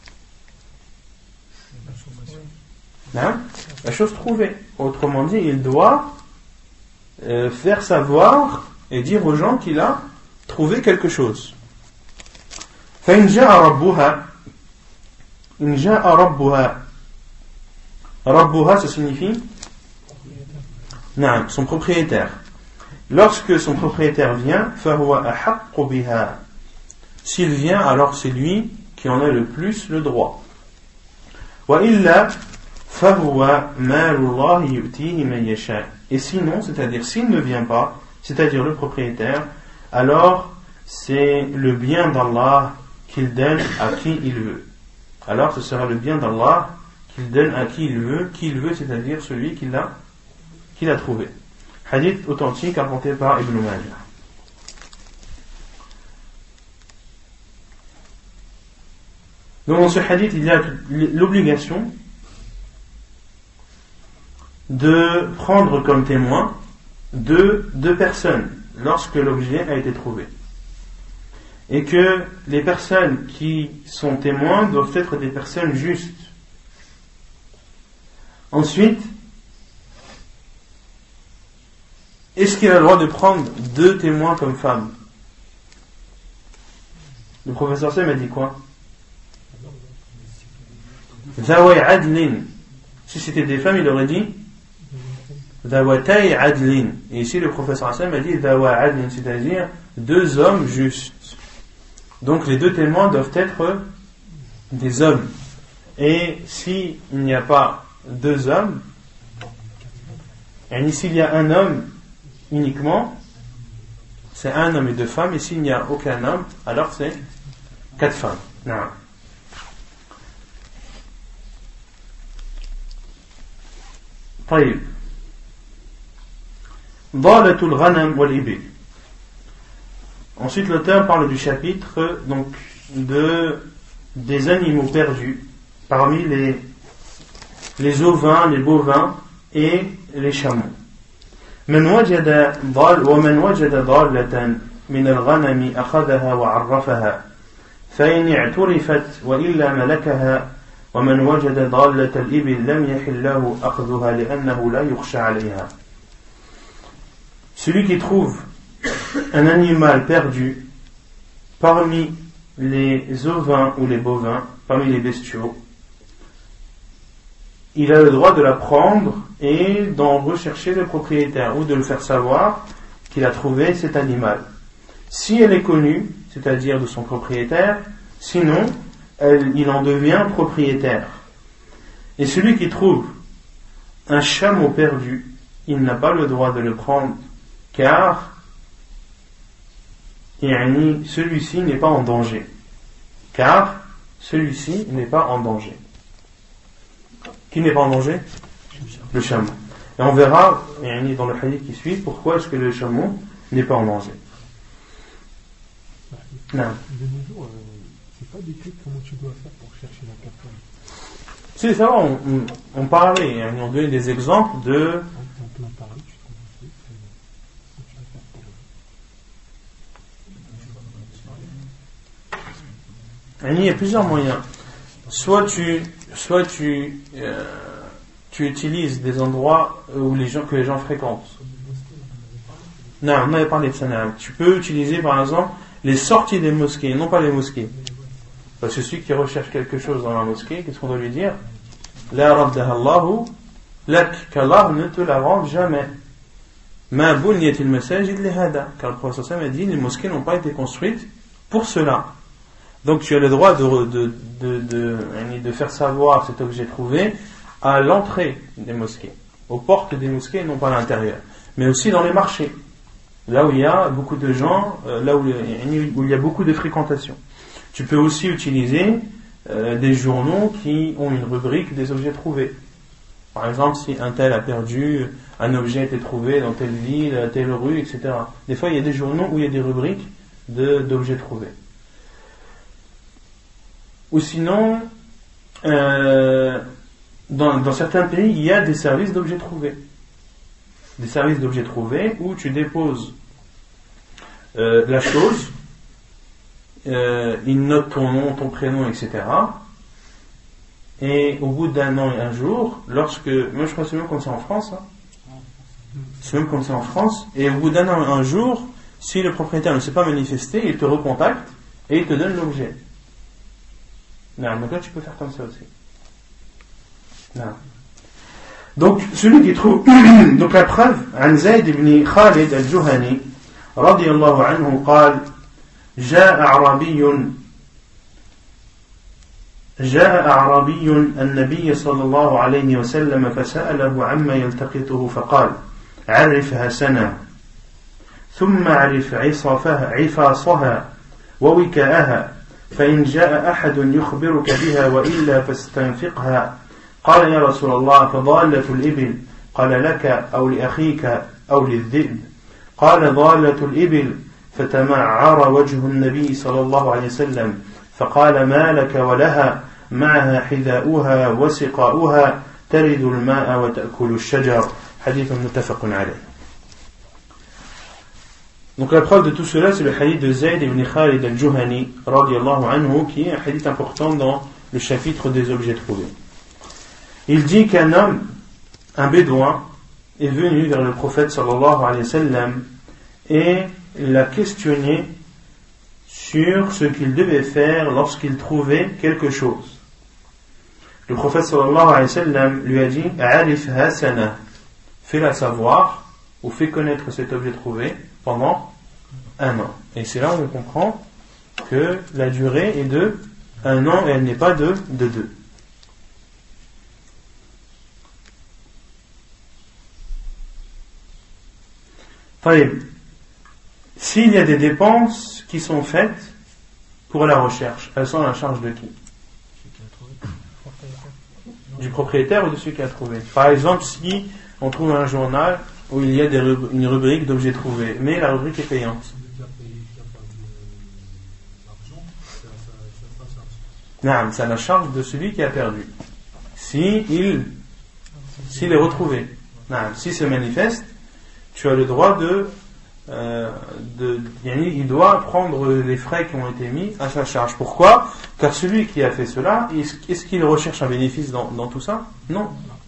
Hein? La chose trouvée. Autrement dit, il doit faire savoir et dire aux gens qu'il a trouvé quelque chose. فإن جاء ربها إن جاء ربها ربها, ça signifie non, son propriétaire. Lorsque son propriétaire vient, فهو أحق بها, s'il vient, alors c'est lui qui en a le plus le droit. وإلا فهو مال الله يؤتيه من يشاء. Et sinon, c'est-à-dire s'il ne vient pas, c'est-à-dire le propriétaire, alors c'est le bien d'Allah qu'il donne à qui il veut. Alors ce sera le bien d'Allah qu'il donne à qui il veut, c'est-à-dire celui qu'il a trouvé. Hadith authentique rapporté par Ibn Majah. Donc dans ce hadith, il y a l'obligation de prendre comme témoin deux personnes lorsque l'objet a été trouvé. Et que les personnes qui sont témoins doivent être des personnes justes. Ensuite, est-ce qu'il a le droit de prendre deux témoins comme femmes? Le professeur Sam a dit quoi? Zawai adlin. Si c'était des femmes, il aurait dit Zawatay adlin. Et ici, le professeur Sam a dit Zawai adlin, c'est-à-dire deux hommes justes. Donc les deux témoins doivent être des hommes. Et s'il n'y a pas deux hommes, et s'il y a un homme uniquement, c'est un homme et deux femmes, et s'il n'y a aucun homme, alors c'est quatre femmes. Non. طيب. ضالة الغنم والإبل. Ensuite, l'auteur parle du chapitre donc des animaux perdus parmi les ovins, les bovins et les chameaux. من وجد ومن وجد ضالة من الغنم أخذها وعرفها فإن اعترفت وإلا ملكها ومن وجد ضالة الإبل لم يحل له أخذها لأنه لا يخشى عليها. Celui qui trouve un animal perdu parmi les ovins ou les bovins, parmi les bestiaux, il a le droit de la prendre et d'en rechercher le propriétaire ou de le faire savoir qu'il a trouvé cet animal. Si elle est connue, c'est-à-dire de son propriétaire, sinon il en devient propriétaire. Et celui qui trouve un chameau perdu, il n'a pas le droit de le prendre, car celui-ci n'est pas en danger. Car celui-ci n'est pas en danger. Qui n'est pas en danger? Le chameau. Et on verra dans le hadith qui suit pourquoi est-ce que le chameau n'est pas en danger. Non. De nos jours, c'est pas décrit comment tu dois faire pour chercher la personne. C'est ça, on parlait, on donnait des exemples de. En plein Paris, tu trouves un truc, tu vas faire pour Il y a plusieurs moyens. Soit tu utilises des endroits que les gens fréquentent. Non, on avait parlé de ça. Tu peux utiliser par exemple les sorties des mosquées, non pas les mosquées. Parce que celui qui recherche quelque chose dans la mosquée, qu'est-ce qu'on doit lui dire? La raddaha Allahu lak, qu'Allah ne te la rende jamais. Ma bunyatil masajid li hada, car le prophète sallallahu alayhi wa sallam a dit les mosquées n'ont pas été construites pour cela. Donc tu as le droit de faire savoir cet objet trouvé à l'entrée des mosquées, aux portes des mosquées, non pas à l'intérieur, mais aussi dans les marchés, là où il y a beaucoup de gens, là où il y a beaucoup de fréquentation. Tu peux aussi utiliser des journaux qui ont une rubrique des objets trouvés. Par exemple, si un tel a perdu, un objet a été trouvé dans telle ville, telle rue, etc. Des fois, il y a des journaux où il y a des rubriques d'objets trouvés. Ou sinon, dans certains pays, il y a des services d'objets trouvés. Des services d'objets trouvés où tu déposes la chose, ils notent ton nom, ton prénom, etc. Et au bout d'un an et un jour, moi je crois que c'est même comme ça en France, c'est même comme ça en France, et au bout d'un an et un jour, si le propriétaire ne s'est pas manifesté, il te recontacte et il te donne l'objet. Non, donc là tu peux faire comme ça aussi. Non. Donc celui qui trouve donc la preuve عن زيد بن خالد الجهني رضي الله عنه قال جاء أعرابي النبي صلى الله عليه وسلم فسأله عما يلتقطه فقال عرفها سنة ثم عرف عفاصها ووكاءها فإن جاء أحد يخبرك بها وإلا فاستنفقها. قال يا رسول الله فضالة الإبل؟ قال لك أو لأخيك أو للذئب؟ قال ضالة الإبل. فتمعر وجه النبي صلى الله عليه وسلم فقال ما لك ولها معها حذاؤها وسقاؤها ترد الماء وتأكل الشجر. حديث متفق عليه. Donc la preuve de tout cela, c'est le hadith de Zayd ibn Khalid al-Juhani radiyallahu anhu, qui est un hadith important dans le chapitre des objets trouvés. Il dit qu'un homme, un bédouin, est venu vers le prophète sallallahu alayhi wa sallam et l'a questionné sur ce qu'il devait faire lorsqu'il trouvait quelque chose. Le prophète sallallahu alayhi wa sallam lui a dit A'rifha sana, fais-la savoir ou fais connaître cet objet trouvé pendant un an. Et c'est là où on comprend que la durée est de un an et elle n'est pas de deux. S'il y a des dépenses qui sont faites pour la recherche, elles sont à la charge de qui? Du propriétaire ou de celui qui a trouvé. Par exemple, si on trouve un journal où il y a une rubrique d'objets trouvés, mais la rubrique est payante. Non, c'est à la charge de celui qui a perdu. S'il est retrouvé, s'il se manifeste, tu as le droit il doit prendre les frais qui ont été mis à sa charge. Pourquoi? Car celui qui a fait cela, est-ce qu'il recherche un bénéfice dans tout ça? Non.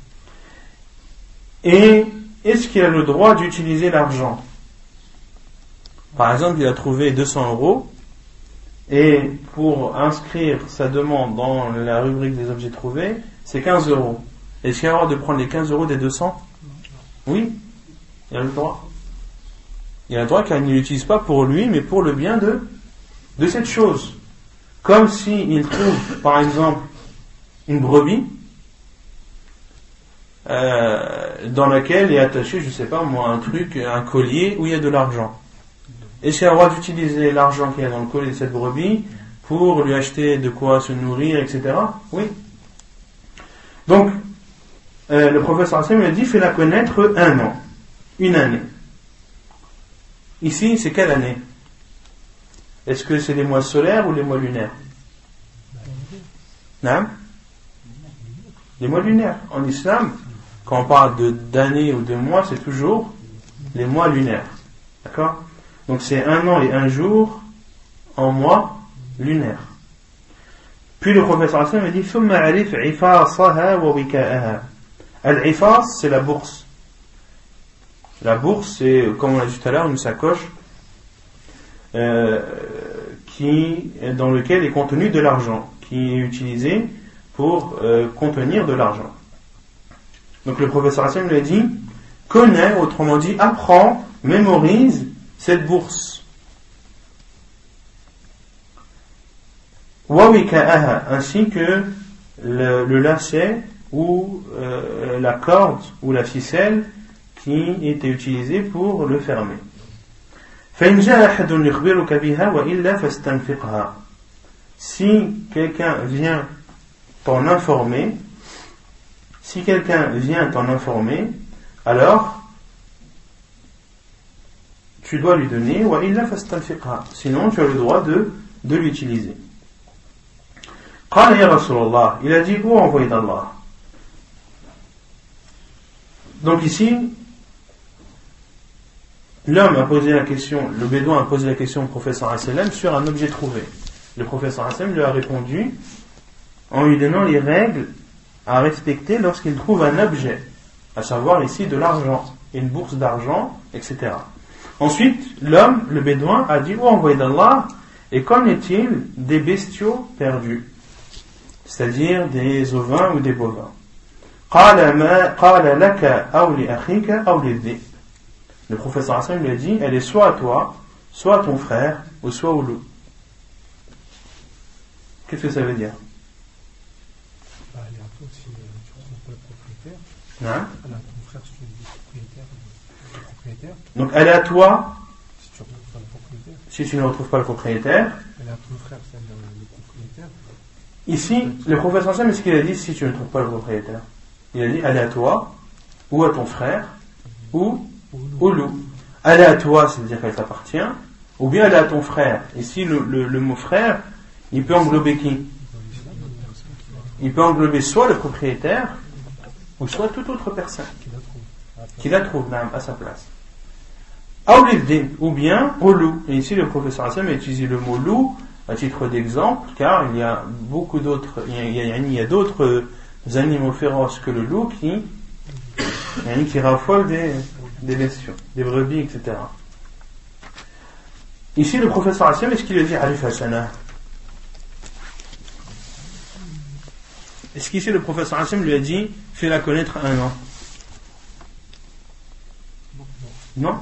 Et est-ce qu'il a le droit d'utiliser l'argent? Par exemple, il a trouvé 200 euros et pour inscrire sa demande dans la rubrique des objets trouvés, c'est 15 euros. Est-ce qu'il a le droit de prendre les 15 euros des 200? Oui, il a le droit. Il a le droit car il ne l'utilise pas pour lui, mais pour le bien de cette chose. Comme s'il trouve, par exemple, une brebis, dans laquelle est attaché, je sais pas moi, un truc, un collier où il y a de l'argent. Est-ce qu'il a le droit d'utiliser l'argent qu'il y a dans le collier de cette brebis pour lui acheter de quoi se nourrir, etc.? Oui. Donc, le professeur Hassan lui a dit, fais-la connaître 1 an, une année. Ici, c'est quelle année? Est-ce que c'est les mois solaires ou les mois lunaires? Non? Les mois lunaires. En islam, quand on parle d'années ou de mois, c'est toujours les mois lunaires. D'accord? Donc c'est 1 an et 1 jour en mois lunaire. Puis le professeur Hassan me dit ثم عرف عفاصها ووكاءها. Al-ifas, c'est la bourse. La bourse, c'est, comme on l'a dit tout à l'heure, une sacoche dans lequel est contenu de l'argent, qui est utilisé pour contenir de l'argent. Donc le professeur Hassan lui a dit connais, autrement dit apprends, mémorise cette bourse. Wawika'aha, ainsi que le lacet ou la corde ou la ficelle qui était utilisée pour le fermer. فإن جاء أحد يخبرك بها وإلا فاستنفقها. Si quelqu'un vient t'en informer, alors tu dois lui donner, sinon tu as le droit de l'utiliser. قال يا رسول الله, il a dit, ô envoyé d'Allah. Donc ici, l'homme a posé la question, le bédouin a posé la question au professeur Hassan sur un objet trouvé. Le professeur Hassan lui a répondu en lui donnant les règles à respecter lorsqu'il trouve un objet, à savoir ici de l'argent, une bourse d'argent, etc. Ensuite, l'homme, le bédouin, a dit, ô envoyé d'Allah, et qu'en est-il des bestiaux perdus, c'est-à-dire des ovins ou des bovins? Le professeur Hassan lui a dit, elle est soit à toi, soit à ton frère, ou soit au loup. Qu'est-ce que ça veut dire? Elle est à toi si tu ne retrouves pas le propriétaire. Hein? Elle est à ton frère si tu es le propriétaire. Donc elle est à toi si tu ne retrouves pas le propriétaire. Si tu ne retrouves pas le propriétaire. Elle est à ton frère, c'est-à-dire le propriétaire. Ici, le professeur Hassan, est-ce qu'il a dit si tu ne trouves pas le propriétaire? Il a dit elle est à toi, ou à ton frère, ou au loup. Elle est à toi, c'est-à-dire qu'elle t'appartient, ou bien elle est à ton frère. Ici, le mot frère, il peut englober qui? Il peut englober soit le propriétaire, ou soit toute autre personne qui la trouve même à sa place. Ou bien au loup. Et ici, le professeur Hassan a utilisé le mot loup à titre d'exemple, car il y a beaucoup d'autres, il y a d'autres animaux féroces que le loup qui raffolent des bestiaux, des brebis, etc. Ici, le professeur Hassan, est-ce qu'il a dit Arif Hassana? Est-ce qu'ici, le professeur Hassan lui a dit fais-la connaître 1 an? Non?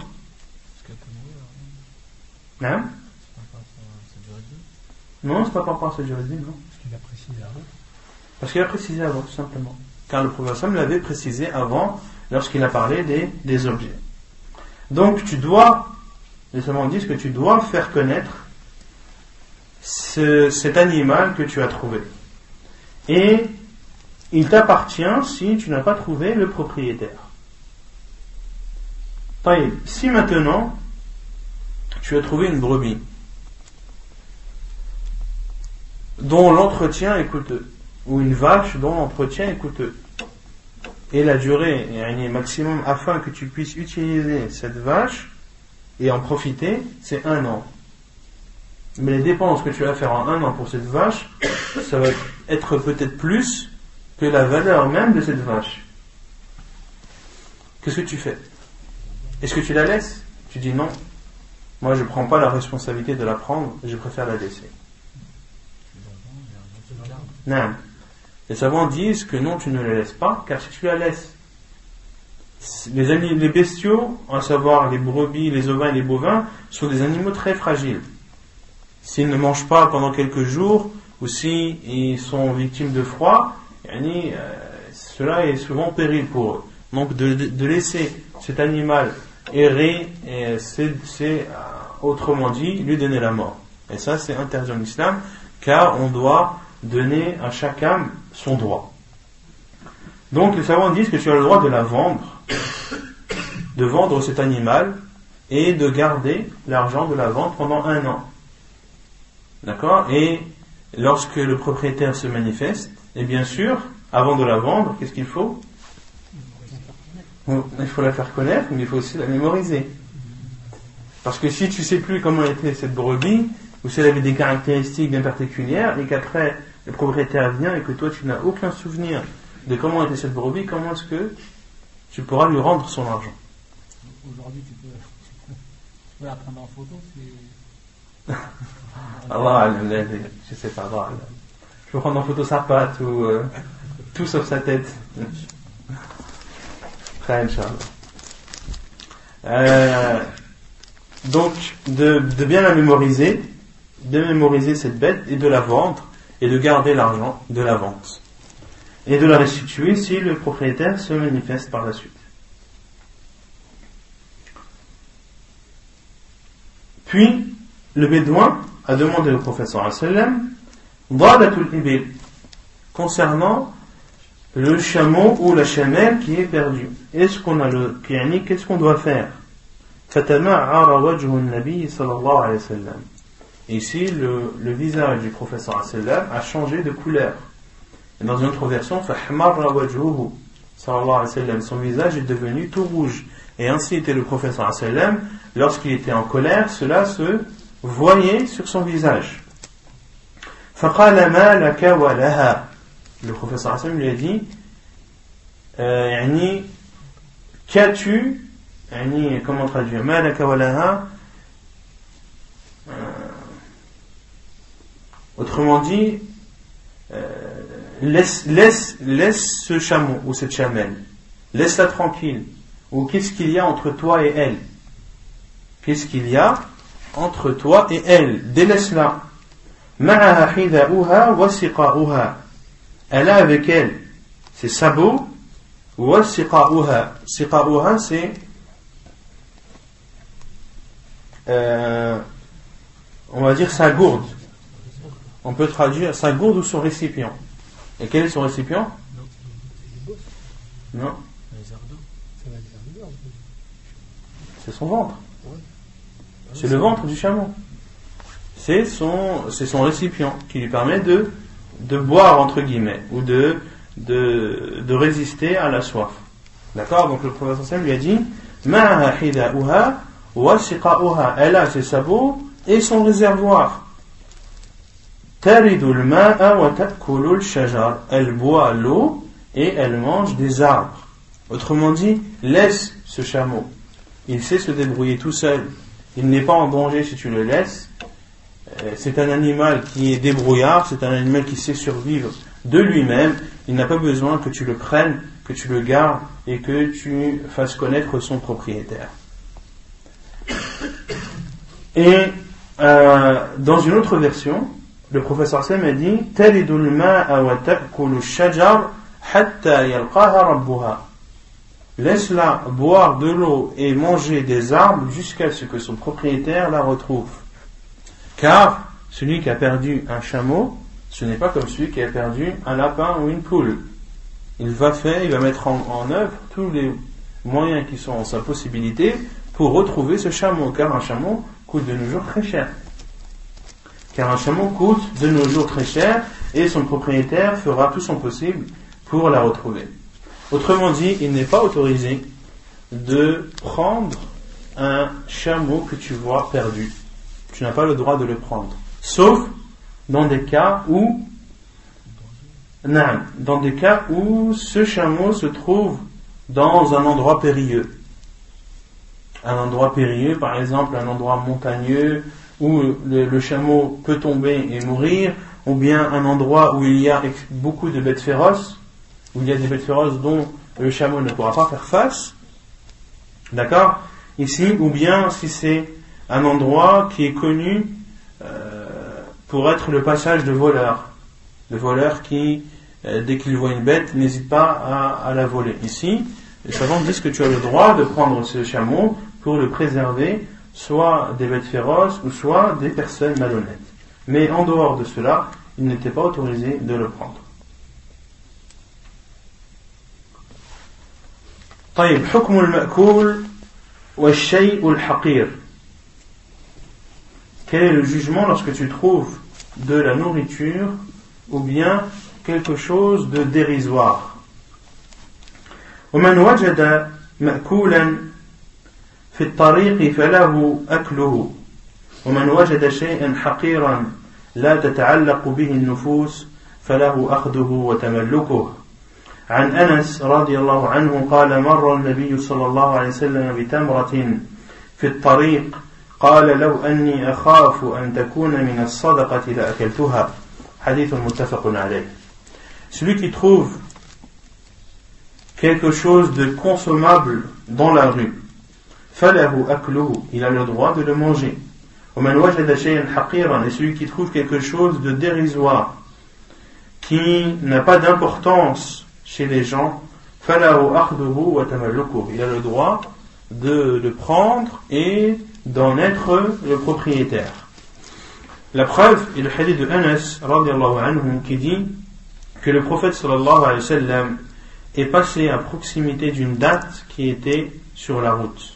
Hein? Non, c'est pas par rapport à cette juridique, non. Parce qu'il a précisé avant, tout simplement. Car le professeur l'avait précisé avant, lorsqu'il a parlé des objets. Donc, tu dois, les savants disent que tu dois faire connaître cet animal que tu as trouvé. Et il t'appartient si tu n'as pas trouvé le propriétaire. Si maintenant, tu as trouvé une brebis dont l'entretien est coûteux, ou une vache dont l'entretien est coûteux, et la durée est maximum afin que tu puisses utiliser cette vache et en profiter, c'est 1 an. Mais les dépenses que tu vas faire en 1 an pour cette vache, ça va être peut-être plus que la valeur même de cette vache. Qu'est-ce que tu fais? Est-ce que tu la laisses? Tu dis non, moi je ne prends pas la responsabilité de la prendre, je préfère la laisser. Non. Les savants disent que non, tu ne la laisses pas, car si tu la laisses, les bestiaux, à savoir les brebis, les ovins et les bovins, sont des animaux très fragiles. S'ils ne mangent pas pendant quelques jours, ou s'ils sont victimes de froid, cela est souvent péril pour eux. Donc de laisser cet animal errer, c'est autrement dit lui donner la mort. Et ça c'est interdit en islam, car on doit donner à chaque âme son droit. Donc les savants disent que tu as le droit de la vendre, de vendre cet animal et de garder l'argent de la vente pendant 1 an. D'accord? Et lorsque le propriétaire se manifeste, et bien sûr, avant de la vendre, qu'est-ce qu'il faut? Il faut la faire connaître, mais il faut aussi la mémoriser. Parce que si tu sais plus comment était cette brebis, ou si elle avait des caractéristiques bien particulières, et qu'après le propriétaire vient et que toi tu n'as aucun souvenir de comment était cette brebis, comment est-ce que tu pourras lui rendre son argent? Aujourd'hui, tu peux la prendre en photo, c'est... Allah, je sais pas, Allah. Je peux prendre en photo sa patte ou tout sauf sa tête. Très Inch'Allah. Donc, de bien la mémoriser, de mémoriser cette bête et de la vendre et de garder l'argent de la vente et de la restituer si le propriétaire se manifeste par la suite. Puis, le bédouin a demandé au prophète sallallahu alayhi wa sallam Dalatul ibil, concernant le chameau ou la chamelle qui est perdu. Qu'est-ce qu'on doit faire? Fatama'ara wajhu an-nabi sallallahu alayhi wa sallam. Ici, le visage du prophète sallallahu alayhi wa sallam a changé de couleur. Et dans une autre version, fahmarra wajhuhu sallallahu alayhi wa sallam, son visage est devenu tout rouge. Et ainsi était le prophète sallallahu alayhi wa sallam, lorsqu'il était en colère, cela se voyait sur son visage. فقال ما لك ولها. Le prophète sallallahu alayhi wa sallam lui a dit qu'as-tu, comment traduire ما لك ولها, autrement dit laisse ce chameau ou cette chamelle, laisse-la tranquille. Ou qu'est-ce qu'il y a entre toi et elle? Qu'est-ce qu'il y a entre toi et elle? Délaisse-la. معها حذاؤها وسقاؤها. Elle a avec elle ses sabots. وسقاؤها. سقاؤها c'est on va dire sa gourde. On peut traduire sa gourde ou son récipient. Et quel est son récipient? Non. C'est son ventre. C'est le ventre du chameau. C'est son récipient qui lui permet de boire entre guillemets ou de résister à la soif. D'accord? Donc le prophète sallallahu alayhi wa sallam lui a dit Ma'aha hida'uha wa siqa'uha. Elle a ses sabots et son réservoir. Taridul ma'a wa ta'kulul shajar. Elle boit l'eau et elle mange des arbres. Autrement dit, laisse ce chameau. Il sait se débrouiller tout seul. Il n'est pas en danger si tu le laisses. C'est un animal qui est débrouillard, c'est un animal qui sait survivre de lui-même. Il n'a pas besoin que tu le prennes, que tu le gardes et que tu fasses connaître son propriétaire. Et dans une autre version, le professeur Sam a dit Talidul ma'a wa ta'kulu shajar hatta yalqaha rabbuha. Laisse-la boire de l'eau et manger des arbres jusqu'à ce que son propriétaire la retrouve. Car celui qui a perdu un chameau, ce n'est pas comme celui qui a perdu un lapin ou une poule. Il va mettre en œuvre tous les moyens qui sont en sa possibilité pour retrouver ce chameau, car un chameau coûte de nos jours très cher. Et son propriétaire fera tout son possible pour la retrouver. Autrement dit, il n'est pas autorisé de prendre un chameau que tu vois perdu. Tu n'as pas le droit de le prendre. Sauf dans des cas où ce chameau se trouve dans un endroit périlleux. Un endroit périlleux, par exemple un endroit montagneux où le chameau peut tomber et mourir, ou bien un endroit où il y a beaucoup de bêtes féroces, où il y a des bêtes féroces dont le chameau ne pourra pas faire face. D'accord? Ici, ou bien si c'est un endroit qui est connu pour être le passage de voleurs. De voleurs qui, dès qu'ils voient une bête, n'hésitent pas à la voler. Ici, les savants disent que tu as le droit de prendre ce chameau pour le préserver, soit des bêtes féroces ou soit des personnes malhonnêtes. Mais en dehors de cela, il n'était pas autorisé de le prendre. طيب حكم المأكول والشيء الحقير. Quel est le jugement lorsque tu trouves de la nourriture ou bien quelque chose de dérisoire? ومن وجد مأكولا في الطريق فله أكله ومن وجد شيئا حقيرا لا تتعلق به النفوس فله أخذه وتملكه. عن أنس رضي الله عنه قال مر النبي صلى الله عليه وسلم بتمرة في الطريق قال لو أني أخاف أن تكون من الصدقة لأكلتها. حديث متفق عليه. Celui qui trouve quelque chose de consommable dans la rue, فله أكله, il a le droit de le manger. ومن وجد شيئا حقيرا, et celui qui trouve quelque chose de dérisoire, qui n'a pas d'importance chez les gens, فله أخذه وتملكه, il a le droit de le prendre et d'en être le propriétaire. La preuve est le hadith de Anas radiallahu anhu qui dit que le prophète sallallahu alayhi wa sallam est passé à proximité d'une date qui était sur la route.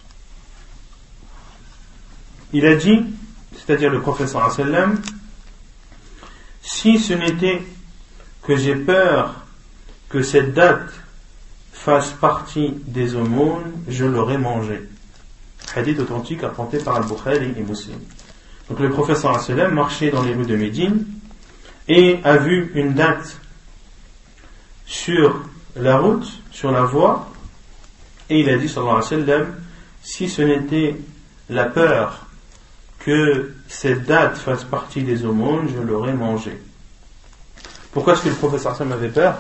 Il a dit, c'est-à-dire le prophète sallallahu alayhi wa sallam, si ce n'était que j'ai peur que cette date fasse partie des aumônes, je l'aurais mangé. Hadith authentique rapporté par Al-Bukhari et Muslim. Donc le prophète sallallahu alayhi wa sallam marchait dans les rues de Médine et a vu une date sur la route, sur la voie, et il a dit sallallahu alayhi wa sallam, si ce n'était la peur que cette date fasse partie des aumônes, je l'aurais mangé. Pourquoi est-ce que le prophète sallallahu alayhi wa sallam avait peur?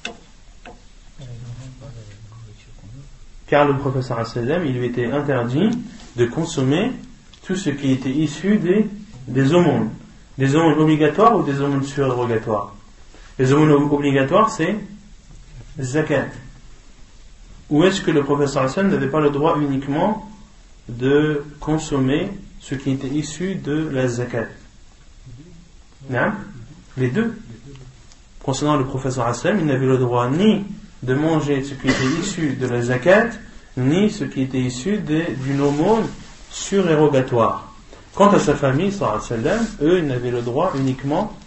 Car le prophète sallallahu alayhi wa sallam, il lui était interdit de consommer tout ce qui était issu des aumônes. Des aumônes obligatoires ou des aumônes surérogatoires? Les aumônes obligatoires, c'est zakat. Ou est-ce que le prophète sallallahu alayhi wa sallam n'avait pas le droit uniquement de consommer ce qui était issu de la zakat? Non? Les deux. Concernant le prophète sallallahu alayhi wa sallam, il n'avait le droit ni de manger ce qui était issu de la zakat, ni ce qui était issu d'une aumône surérogatoire. Quant à sa famille, sallallahu alayhi wa sallam, eux, ils n'avaient le droit uniquement,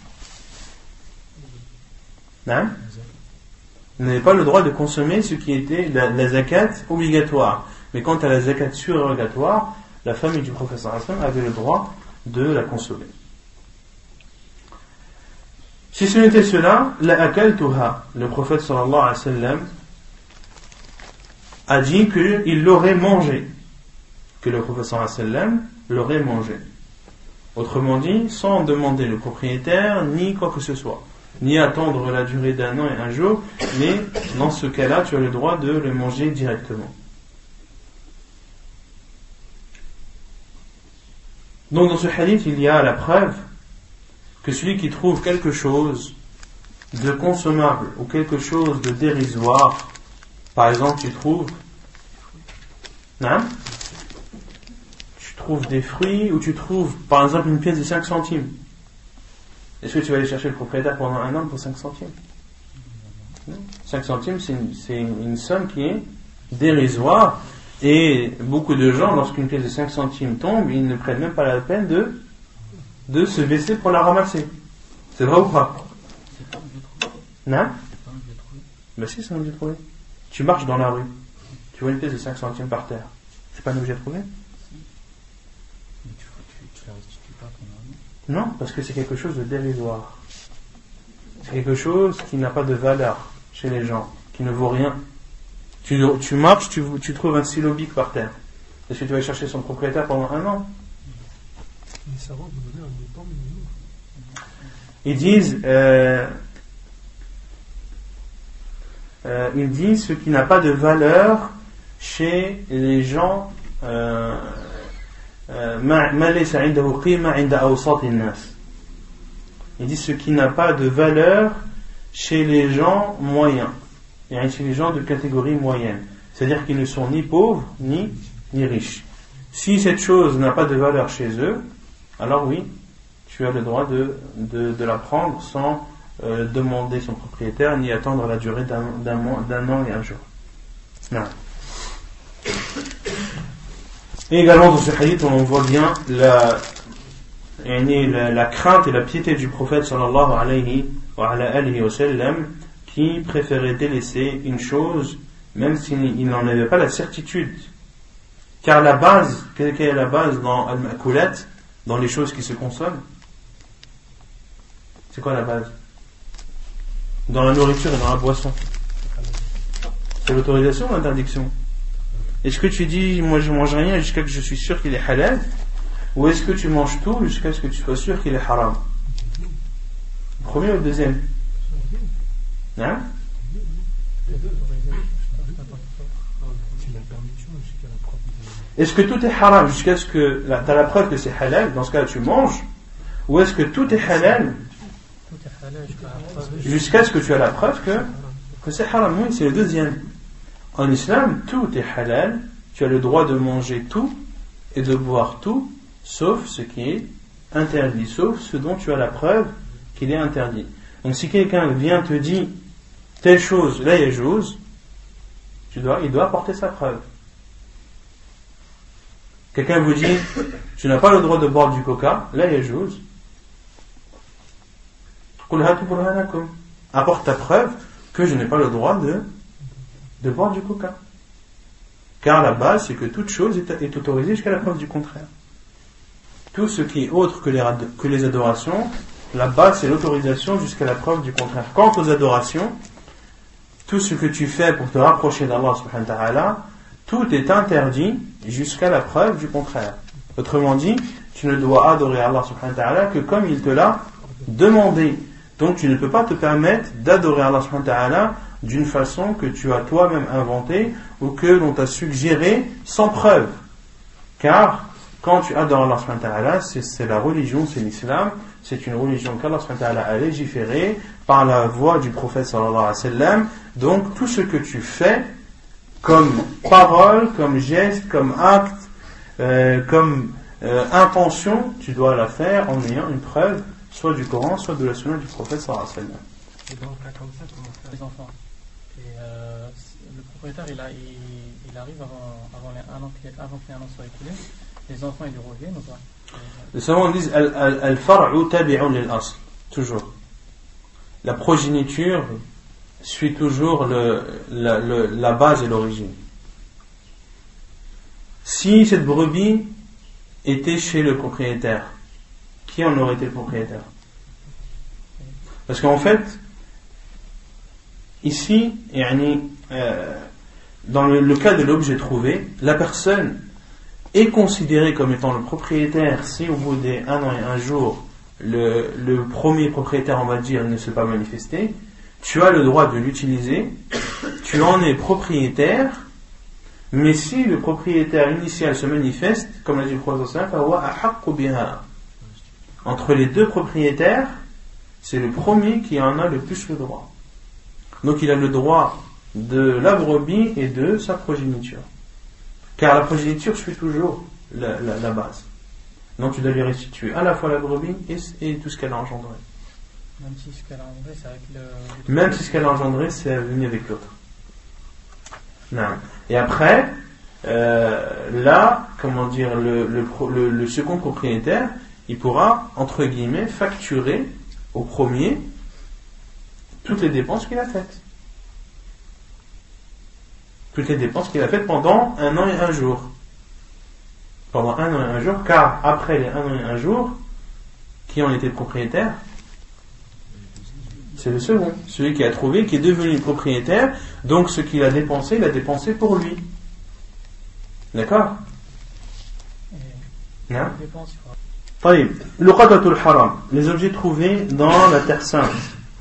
non? Ils n'avaient pas le droit de consommer ce qui était la zakat obligatoire. Mais quant à la zakat surérogatoire, la famille du prophète sallallahu alayhi wa sallam avait le droit de la consommer. Si ce n'était cela, la akaltuha, le prophète sallallahu alayhi wa sallam a dit qu'il l'aurait mangé. Que le prophète sallallahu alayhi wa sallam l'aurait mangé. Autrement dit, sans demander le propriétaire, ni quoi que ce soit. Ni attendre la durée d'un an et un jour, mais dans ce cas-là, tu as le droit de le manger directement. Donc dans ce hadith, il y a la preuve que celui qui trouve quelque chose de consommable ou quelque chose de dérisoire, par exemple tu trouves des fruits ou tu trouves par exemple une pièce de 5 centimes, est-ce que tu vas aller chercher le propriétaire pendant un an pour 5 centimes? 5 centimes c'est une somme qui est dérisoire, et beaucoup de gens, lorsqu'une pièce de 5 centimes tombe, ils ne prennent même pas la peine de se baisser pour la ramasser. C'est vrai ou pas? Non? Mais si, c'est un objet trouvé. Tu marches dans la rue, tu vois une pièce de 5 centimes par terre, c'est pas un objet trouvé? Non, parce que c'est quelque chose de dérisoire. C'est quelque chose qui n'a pas de valeur chez les gens, qui ne vaut rien. Tu marches, tu trouves un stylo bic par terre. Est-ce que tu vas chercher son propriétaire pendant un an? Ils disent ce qui n'a pas de valeur chez les gens. Il dit ce qui n'a pas de valeur chez les gens moyens, chez les gens de catégorie moyenne, C'est-à-dire qu'ils ne sont ni pauvres ni riches. Si cette chose n'a pas de valeur chez eux, alors oui, tu as le droit de la prendre sans demander son propriétaire ni attendre la durée d'un an et un jour. Non. Et également dans ce hadith, on voit bien la crainte et la piété du prophète sallallahu alayhi wa sallam, qui préférait délaisser une chose même s'il n'en avait pas la certitude. Car la base, quelle est la base dans al-ma'kulat, dans les choses qui se consomment? C'est quoi la base? Dans la nourriture et dans la boisson, c'est l'autorisation ou l'interdiction? Est-ce que tu dis, moi je mange rien jusqu'à ce que je suis sûr qu'il est halal, ou est-ce que tu manges tout jusqu'à ce que tu sois sûr qu'il est haram? Le premier ou le deuxième? Hein? Est-ce que tout est haram jusqu'à ce que tu as la preuve que c'est halal, dans ce cas tu manges, ou est-ce que tout est halal jusqu'à ce que tu as la preuve que c'est haram? Oui, c'est le deuxième. En islam, tout est halal, tu as le droit de manger tout et de boire tout, sauf ce qui est interdit, sauf ce dont tu as la preuve qu'il est interdit. Donc si quelqu'un vient te dire telle chose, là yajouz, il doit apporter sa preuve. Quelqu'un vous dit tu n'as pas le droit de boire du coca, là yajouz, apporte ta preuve que je n'ai pas le droit de boire du coca. Car la base, c'est que toute chose est autorisée jusqu'à la preuve du contraire. Tout ce qui est autre que les adorations, la base, c'est l'autorisation jusqu'à la preuve du contraire. Quant aux adorations, tout ce que tu fais pour te rapprocher d'Allah subhanahu wa ta'ala, tout est interdit jusqu'à la preuve du contraire. Autrement dit, tu ne dois adorer Allah subhanahu wa ta'ala que comme il te l'a demandé. Donc tu ne peux pas te permettre d'adorer Allah subhanahu wa ta'ala d'une façon que tu as toi-même inventée ou que l'on t'a suggéré sans preuve. Car quand tu adores Allah subhanahu wa ta'ala, c'est la religion, c'est l'islam, c'est une religion qu'Allah subhanahu wa ta'ala a légiférée par la voix du prophète sallallahu alayhi wa sallam. Donc tout ce que tu fais comme parole, comme geste, comme acte, comme intention, tu dois la faire en ayant une preuve soit du Coran, soit de la sunna du prophète sallallahu alayhi wa sallam. Et dans le cas comme ça, comment faire Les enfants. Et le propriétaire, il arrive avant que les 1 an soit écoulé. Les enfants, ils lui reviennent ou pas? Les savants disent al-far'u tabi'un lil-asl, toujours. La progéniture suit toujours la base et l'origine. Si cette brebis était chez le propriétaire, qui en aurait été le propriétaire? Parce qu'en fait, ici, dans le cas de l'objet trouvé, la personne est considérée comme étant le propriétaire si au bout des 1 an et 1 jour, le premier propriétaire, on va dire, ne s'est pas manifesté. Tu as le droit de l'utiliser, tu en es propriétaire, mais si le propriétaire initial se manifeste, comme l'a dit le prophète, entre les deux propriétaires, c'est le premier qui en a le plus le droit. Donc il a le droit de la brebis et de sa progéniture. Car la progéniture suit toujours la base. Donc tu dois lui restituer à la fois la brebis et tout ce qu'elle a engendré. Même si ce qu'elle a engendré, c'est avec Même si ce qu'elle a engendré, c'est venu avec l'autre. Non. Et après, là, comment dire, le second propriétaire, il pourra, entre guillemets, facturer au premier toutes les dépenses qu'il a faites. Toutes les dépenses qu'il a faites pendant 1 an et 1 jour. Pendant 1 an et 1 jour, car après les 1 an et 1 jour, qui en était le propriétaire? C'est le second, celui qui a trouvé, qui est devenu propriétaire. Donc ce qu'il a dépensé, il a dépensé pour lui. D'accord? Non? طيب, luqatatul haram, les objets trouvés dans la terre sainte.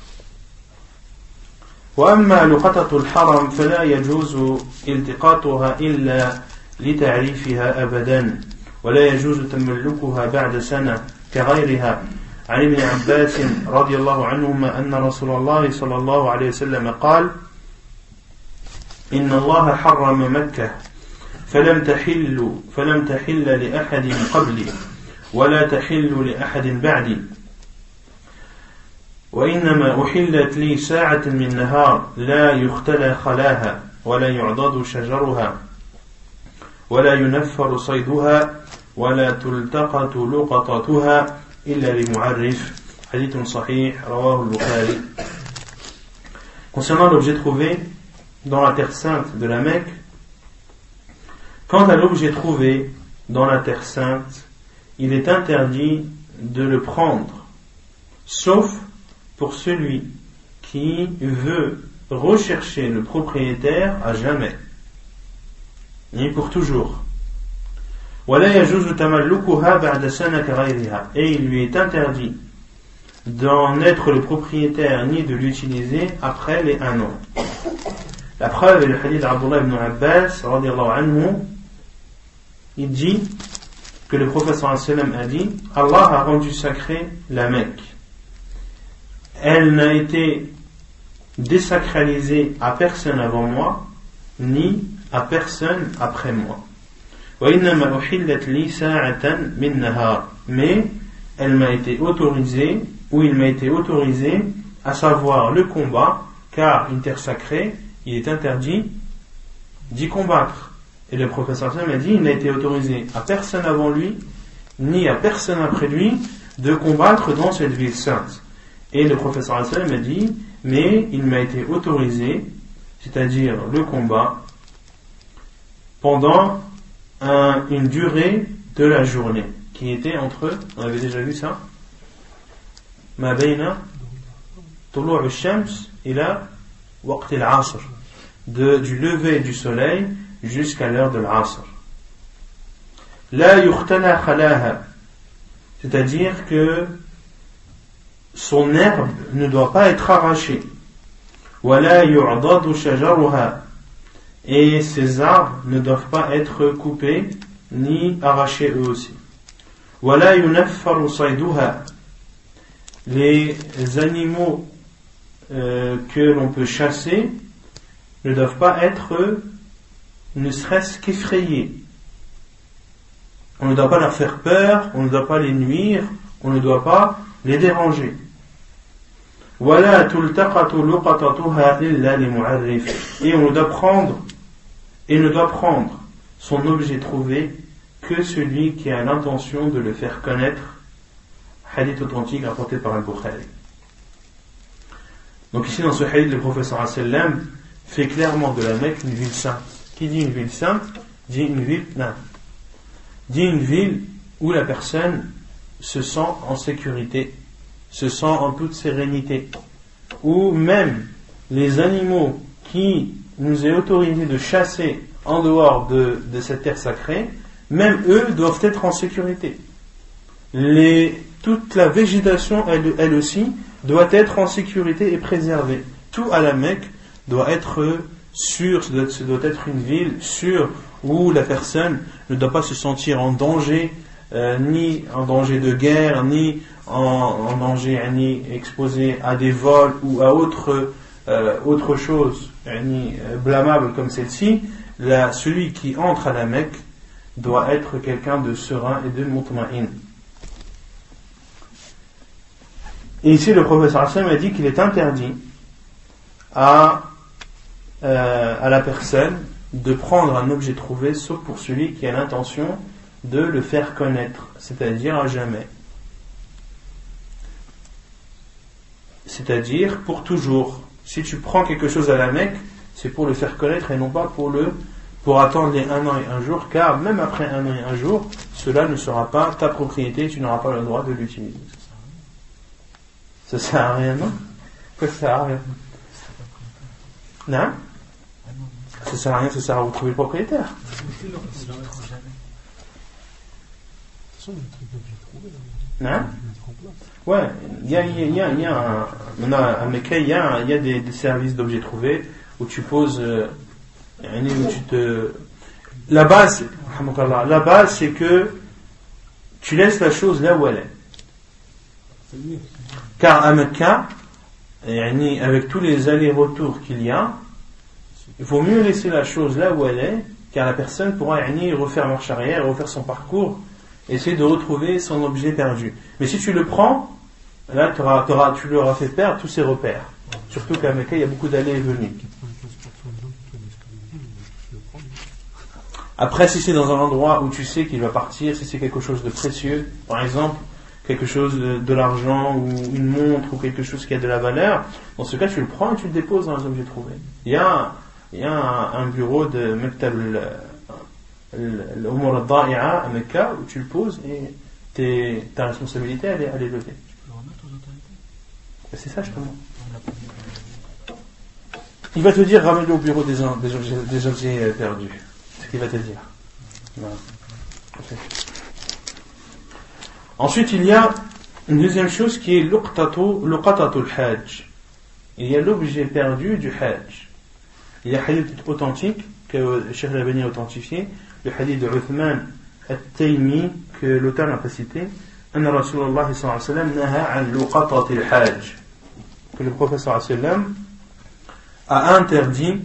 وأما لقطة الحرم فلا يجوز التقاطها إلا لتعريفها أبدا ولا يجوز تملكها بعد سنة كغيرها عن ابن عباس رضي الله عنهما أن رسول الله صلى الله عليه وسلم قال إن الله حرم مكة فلم تحل لأحد قبلي ولا تحل لأحد بعدي وإنما أحلت لي ساعة من نهار لا يختلى خلاها ولا يعضد شجرها ولا ينفر صيدها ولا تلتقط لقطتها إلا لمعرف. Hadith sahih, rawahu al-Bukhari. Concernant l'objet trouvé dans la terre sainte de la Mecque, quant à l'objet trouvé dans la terre sainte, il est interdit de le prendre, sauf pour celui qui veut rechercher le propriétaire à jamais, ni pour toujours. Et il lui est interdit d'en être le propriétaire ni de l'utiliser après les 1 an. La preuve est le hadith d'Abdullah ibn Abbas radiyallahu anhu. Il dit que le prophète sallallahu alayhi wa sallam a dit: Allah a rendu sacré la Mecque. Elle n'a été désacralisée à personne avant moi, ni à personne après moi. Mais elle m'a été autorisée, ou il m'a été autorisé, à savoir le combat, car une terre sacrée, il est interdit d'y combattre. Et le prophète sallallahu alayhi wa sallam a dit: il n'a été autorisé à personne avant lui, ni à personne après lui, de combattre dans cette ville sainte. Et le prophète sallallahu alayhi wa sallam a dit: mais il m'a été autorisé, c'est-à-dire le combat, pendant une durée de la journée, qui était entre, on avait déjà vu ça, ma bayna tulu' al-shams ila waqt al-asr, du lever du soleil jusqu'à l'heure de l'asr. La yuhtala khalaha, c'est-à-dire que son herbe ne doit pas être arrachée. Wala yu'dadu shajaruha, et ces arbres ne doivent pas être coupés ni arrachés eux aussi. Wala yunaffaru sayduha, les animaux que l'on peut chasser ne doivent pas être ne serait-ce qu'effrayés. On ne doit pas leur faire peur, on ne doit pas les nuire, on ne doit pas les déranger. Wala tultaqatu luqatatuha illa li mu'arrif, et on ne doit prendre son objet trouvé que celui qui a l'intention de le faire connaître. Hadith authentique rapporté par Al-Bukhari. Donc ici dans ce hadith, le prophète sallallahu alayhi wa sallam fait clairement de la Mecque une ville sainte. Qui dit une ville sainte dit une ville où la personne se sent en sécurité, se sent en toute sérénité, où même les animaux qui nous est autorisé de chasser en dehors de cette terre sacrée, même eux doivent être en sécurité. Toute la végétation, elle aussi, doit être en sécurité et préservée. Tout à la Mecque doit être sûr, ce doit être une ville sûre où la personne ne doit pas se sentir en danger, ni en danger de guerre, ni en danger, ni exposé à des vols ou à autre chose, ni blâmable comme celle-ci. Celui qui entre à la Mecque doit être quelqu'un de serein et de mutma'in. Et ici le professeur Hassan a dit qu'il est interdit à la personne de prendre un objet trouvé sauf pour celui qui a l'intention de le faire connaître, c'est-à-dire à jamais, c'est-à-dire pour toujours. Si tu prends quelque chose à la Mecque, c'est pour le faire connaître et non pas pour attendre les 1 an et 1 jour, car même après 1 an et 1 jour, cela ne sera pas ta propriété et tu n'auras pas le droit de l'utiliser. Ça sert à rien, non? Pourquoi ça sert à rien? Non? Ça sert à rien, ça sert à vous trouver le propriétaire. Non? Ouais, il y a à Mecca, il y a des services d'objets trouvés où tu poses, la base c'est que tu laisses la chose là où elle est. Car à Mecca, avec tous les allers-retours qu'il y a, il vaut mieux laisser la chose là où elle est, car la personne pourra refaire marche arrière, refaire son parcours, essayer de retrouver son objet perdu. Mais si tu le prends, là tu lui auras fait perdre tous ses repères. Surtout qu'à Mecca, il y a beaucoup d'allées et venues. Après, si c'est dans un endroit où tu sais qu'il va partir, si c'est quelque chose de précieux, par exemple, quelque chose de l'argent ou une montre ou quelque chose qui a de la valeur, dans ce cas, tu le prends et tu le déposes dans les objets trouvés. Il y a un bureau de Mektab al-Umur al-Da'i'a à Mecca où tu le poses et ta responsabilité, elle est levée. Tu peux le remettre aux autorités? C'est ça, justement. Il va te dire, ramène-le au bureau des objets perdus. C'est ce qu'il va te dire. Voilà. Ensuite, il y a une deuxième chose qui est luqatatul hajj. Il y a l'objet perdu du hajj. Il y a un hadith authentique que le Cheikh Al-Albani a authentifié, le hadith de Uthman al-Taymi que l'auteur n'a pas cité. Anna Rasulullah sallallahu alayhi wa sallam naha an luqatatil hajj. Que le prophète sallallahu alayhi wa sallam a interdit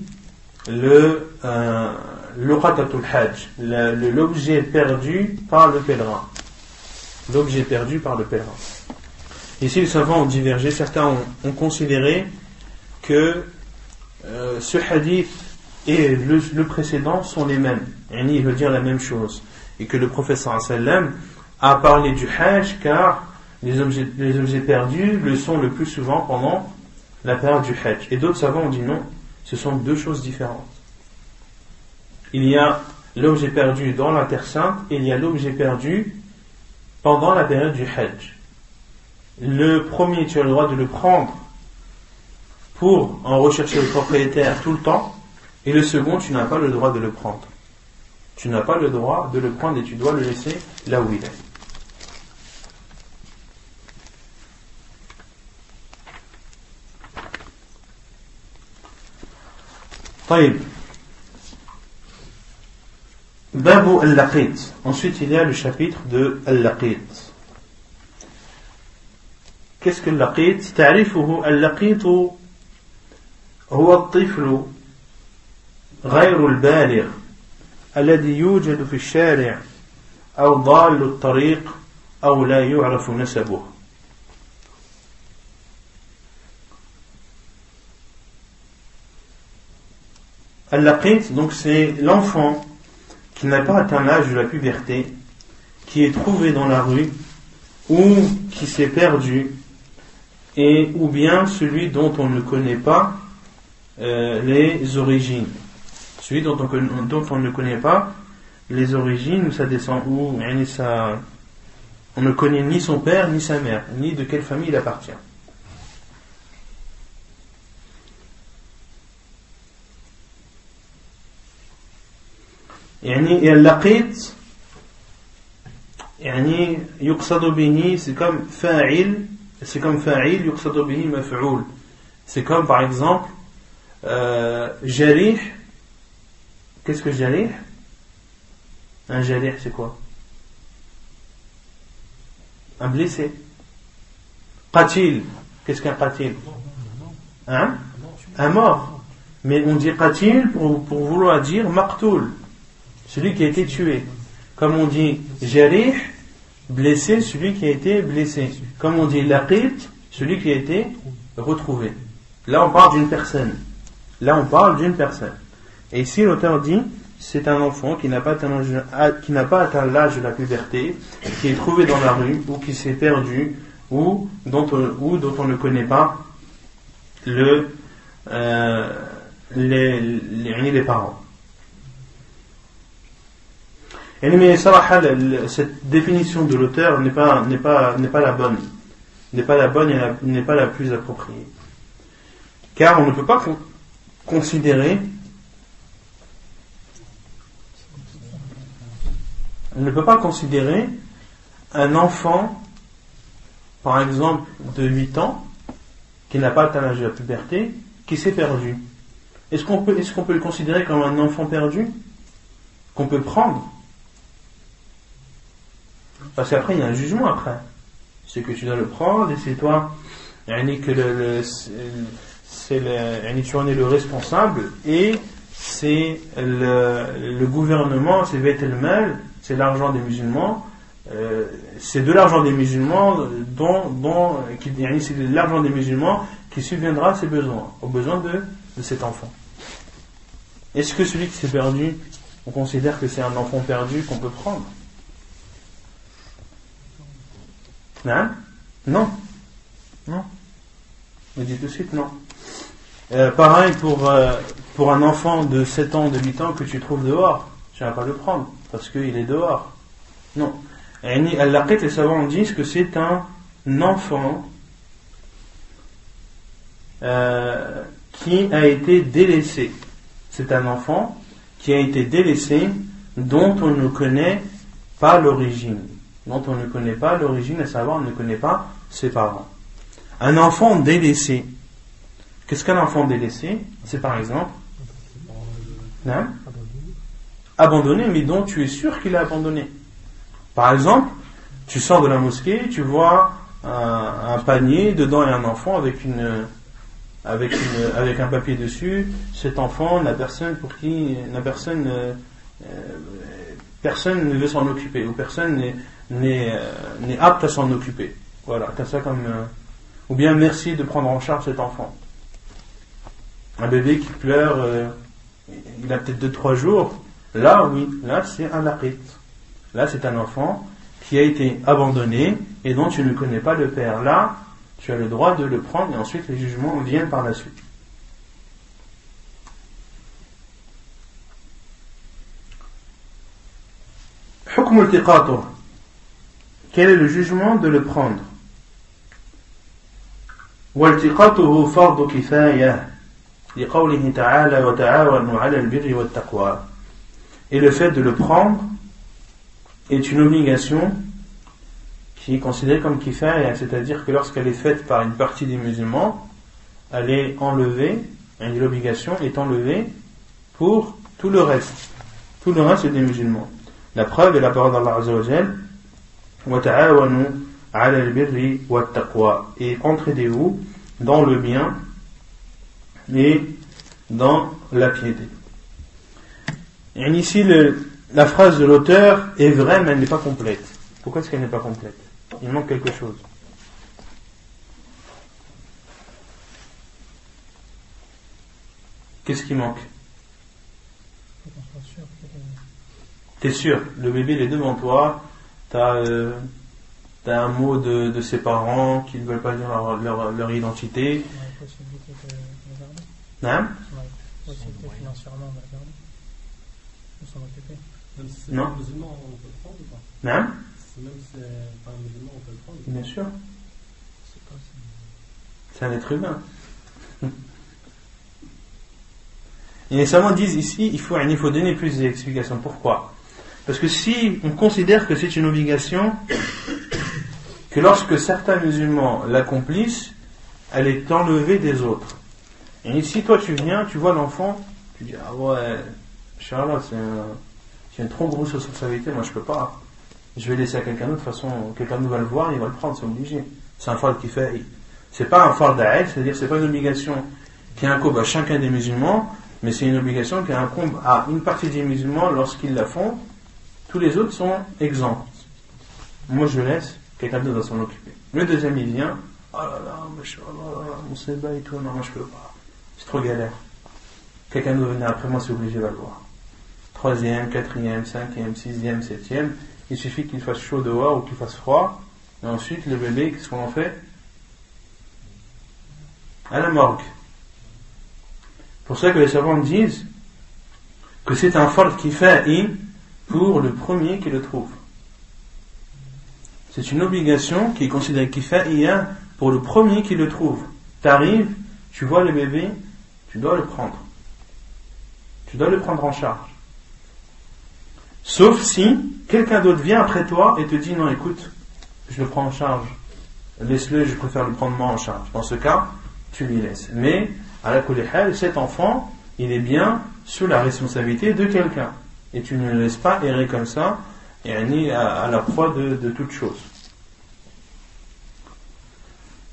luqatatul hajj, l'objet perdu par le pèlerin. L'objet perdu par le pèlerin. Ici, les savants ont divergé. Certains ont considéré que ce hadith et le précédent sont les mêmes. Il veut dire la même chose. Et que le prophète sallallahu alayhi wa sallam a parlé du hajj car les objets perdus le sont le plus souvent pendant la période du hajj. Et d'autres savants ont dit non, ce sont deux choses différentes. Il y a l'objet perdu dans la terre sainte et il y a l'objet perdu pendant la période du hajj. Le premier, tu as le droit de le prendre pour en rechercher le propriétaire tout le temps, et le second, tu n'as pas le droit de le prendre. Tu n'as pas le droit de le prendre et tu dois le laisser là où il est. طيب. Babu al-Laqit. Ensuite, il y a le chapitre de al-Laqit. Qu'est-ce que al-Laqit? تعرفه اللقيط هو الطفل غير البالغ الذي يوجد في الشارع أو ضال الطريق أو لا يعرف نسبه. Al-Laqit, donc c'est l'enfant qui n'a pas atteint l'âge de la puberté, qui est trouvé dans la rue, ou qui s'est perdu, ou bien celui dont on ne connaît pas les origines. Celui dont on ne connaît pas les origines, où ça descend, où on ne connaît ni son père, ni sa mère, ni de quelle famille il appartient. Et al-laqit يقصد به c'est comme fa'il يقصد به مفعول. C'est comme par exemple jarih. Qu'est-ce que jarih? Un jarih c'est quoi? Un blessé. Qatil. Qu'est-ce qu'un qatil? Un mort. Mais on dit qatil pour vouloir dire maqtoul, celui qui a été tué. Comme on dit jarih, blessé, celui qui a été blessé. Comme on dit laqit, celui qui a été retrouvé. Là on parle d'une personne. Et ici l'auteur dit, c'est un enfant qui n'a pas atteint l'âge de la puberté, qui est trouvé dans la rue, ou qui s'est perdu, ou dont on ne connaît pas les parents. Mais cette définition de l'auteur n'est pas la bonne. N'est pas la bonne et n'est pas la plus appropriée. Car on ne peut pas considérer un enfant, par exemple, de 8 ans, qui n'a pas atteint l'âge de la puberté, qui s'est perdu. Est-ce qu'on peut le considérer comme un enfant perdu qu'on peut prendre? Parce qu'après il y a un jugement après. C'est que tu dois le prendre et c'est toi tu en es le responsable et c'est le gouvernement, c'est Bayt al-Mal, c'est l'argent des musulmans, c'est de l'argent des musulmans c'est de l'argent des musulmans qui subviendra à ses besoins, aux besoins de cet enfant. Est-ce que celui qui s'est perdu, on considère que c'est un enfant perdu qu'on peut prendre? Non? Non. Non. Me dit tout de suite non. Pareil pour un enfant de 7 ans, de 8 ans que tu trouves dehors, tu n'as pas le prendre parce qu'il est dehors. Non. Al-Laqit, les savants disent que c'est un enfant qui a été délaissé. C'est un enfant qui a été délaissé, dont on ne connaît pas l'origine. Dont on ne connaît pas l'origine, à savoir on ne connaît pas ses parents. Un enfant délaissé. Qu'est-ce qu'un enfant délaissé? C'est par exemple abandonné, mais dont tu es sûr qu'il est abandonné. Par exemple, tu sors de la mosquée, tu vois un panier, dedans il y a un enfant avec un papier dessus. Cet enfant personne ne veut s'en occuper, ou personne n'est apte à s'en occuper. Voilà, t'as ça comme ou bien merci de prendre en charge cet enfant. Un bébé qui pleure, il a peut-être 2-3 jours. Là, oui, là c'est un laqit. Là c'est un enfant qui a été abandonné et dont tu ne connais pas le père. Là, tu as le droit de le prendre et ensuite les jugements viennent par la suite. Hukm al-tiqatuh. Quel est le jugement de le prendre? والتقاطه فرض كفاية لقوله تعالى وتعاونوا على البر والتقوى. Et le fait de le prendre est une obligation qui est considérée comme kifaya, c'est-à-dire que lorsqu'elle est faite par une partie des musulmans, elle est enlevée, et l'obligation est enlevée pour tout le reste. Tout le reste des musulmans. La preuve est la parole d'Allah Azza wa Jal, وَتَعَاوَنُوا عَلَى الْبِرِّ وَالتَّقْوَى. Et entraidez-vous dans le bien et dans la piété. Et ici, la phrase de l'auteur est vraie, mais elle n'est pas complète. Pourquoi est-ce qu'elle n'est pas complète? Il manque quelque chose. Qu'est-ce qui manque? T'es sûr, le bébé il est devant toi, t'as un mot de ses parents qui ne veulent pas dire leur identité. Non? Financièrement, on va garder. On s'en occuper. Même si c'est Non. pas un musulman, on peut le prendre ou pas? Non? Même si c'est pas un musulman, on peut le prendre. Bien sûr. C'est un être humain. Et les savants disent ici, il faut donner plus d'explications. Pourquoi? Parce que si on considère que c'est une obligation, que lorsque certains musulmans l'accomplissent, elle est enlevée des autres. Et ici, toi, tu viens, tu vois l'enfant, tu dis, ah ouais, Inch'Allah, c'est une trop grosse responsabilité, moi je peux pas. Je vais laisser à quelqu'un d'autre, de toute façon, quelqu'un d'autre va le voir, il va le prendre, c'est obligé. C'est un fard qui fait. C'est pas un fard d'a'aïd, c'est-à-dire c'est pas une obligation qui incombe à chacun des musulmans, mais c'est une obligation qui incombe à une partie des musulmans lorsqu'ils la font. Tous les autres sont exempts. Moi je laisse, quelqu'un d'autre va s'en occuper. Le deuxième il vient, oh là là, Inch'Allah, mon sébat et tout, non, moi je peux pas. C'est trop galère. Quelqu'un d'autre venir après moi, c'est obligé de le voir. 3e, 4e, 5e, 6e, 7e, il suffit qu'il fasse chaud dehors ou qu'il fasse froid, et ensuite le bébé, qu'est-ce qu'on en fait? À la morgue. Pour ça que les savants disent que c'est un fard kifa'i pour le premier qui le trouve. C'est une obligation qui est considérée kifa'iyya pour le premier qui le trouve. T'arrives, tu vois le bébé, tu dois le prendre. Tu dois le prendre en charge. Sauf si quelqu'un d'autre vient après toi et te dit non, écoute, je le prends en charge. Laisse-le, je préfère le prendre moi en charge. Dans ce cas, tu lui laisses. Mais, à la kulli hal, cet enfant, il est bien sous la responsabilité de quelqu'un. Et tu ne le laisses pas errer comme ça, et à la proie de toute chose.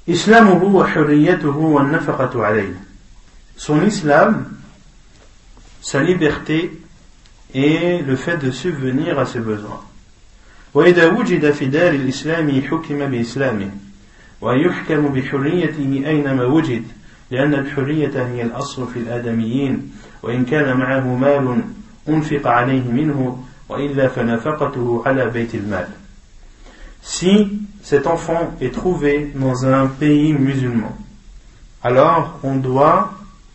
Islamuhu wa hurriyatuhu wa nafaqatu alayhi. Son islam sa liberté et le fait de subvenir à ses besoins. وإذا وجد في دار الإسلام حكم بإسلامه ويحكم بحريته أينما وجد لأن الحرية هي الأصل في الآدميين وإن كان معه مال أنفق عليه منه وإلا فنفقته على بيت المال. Si cet enfant est trouvé dans un pays musulman, alors on doit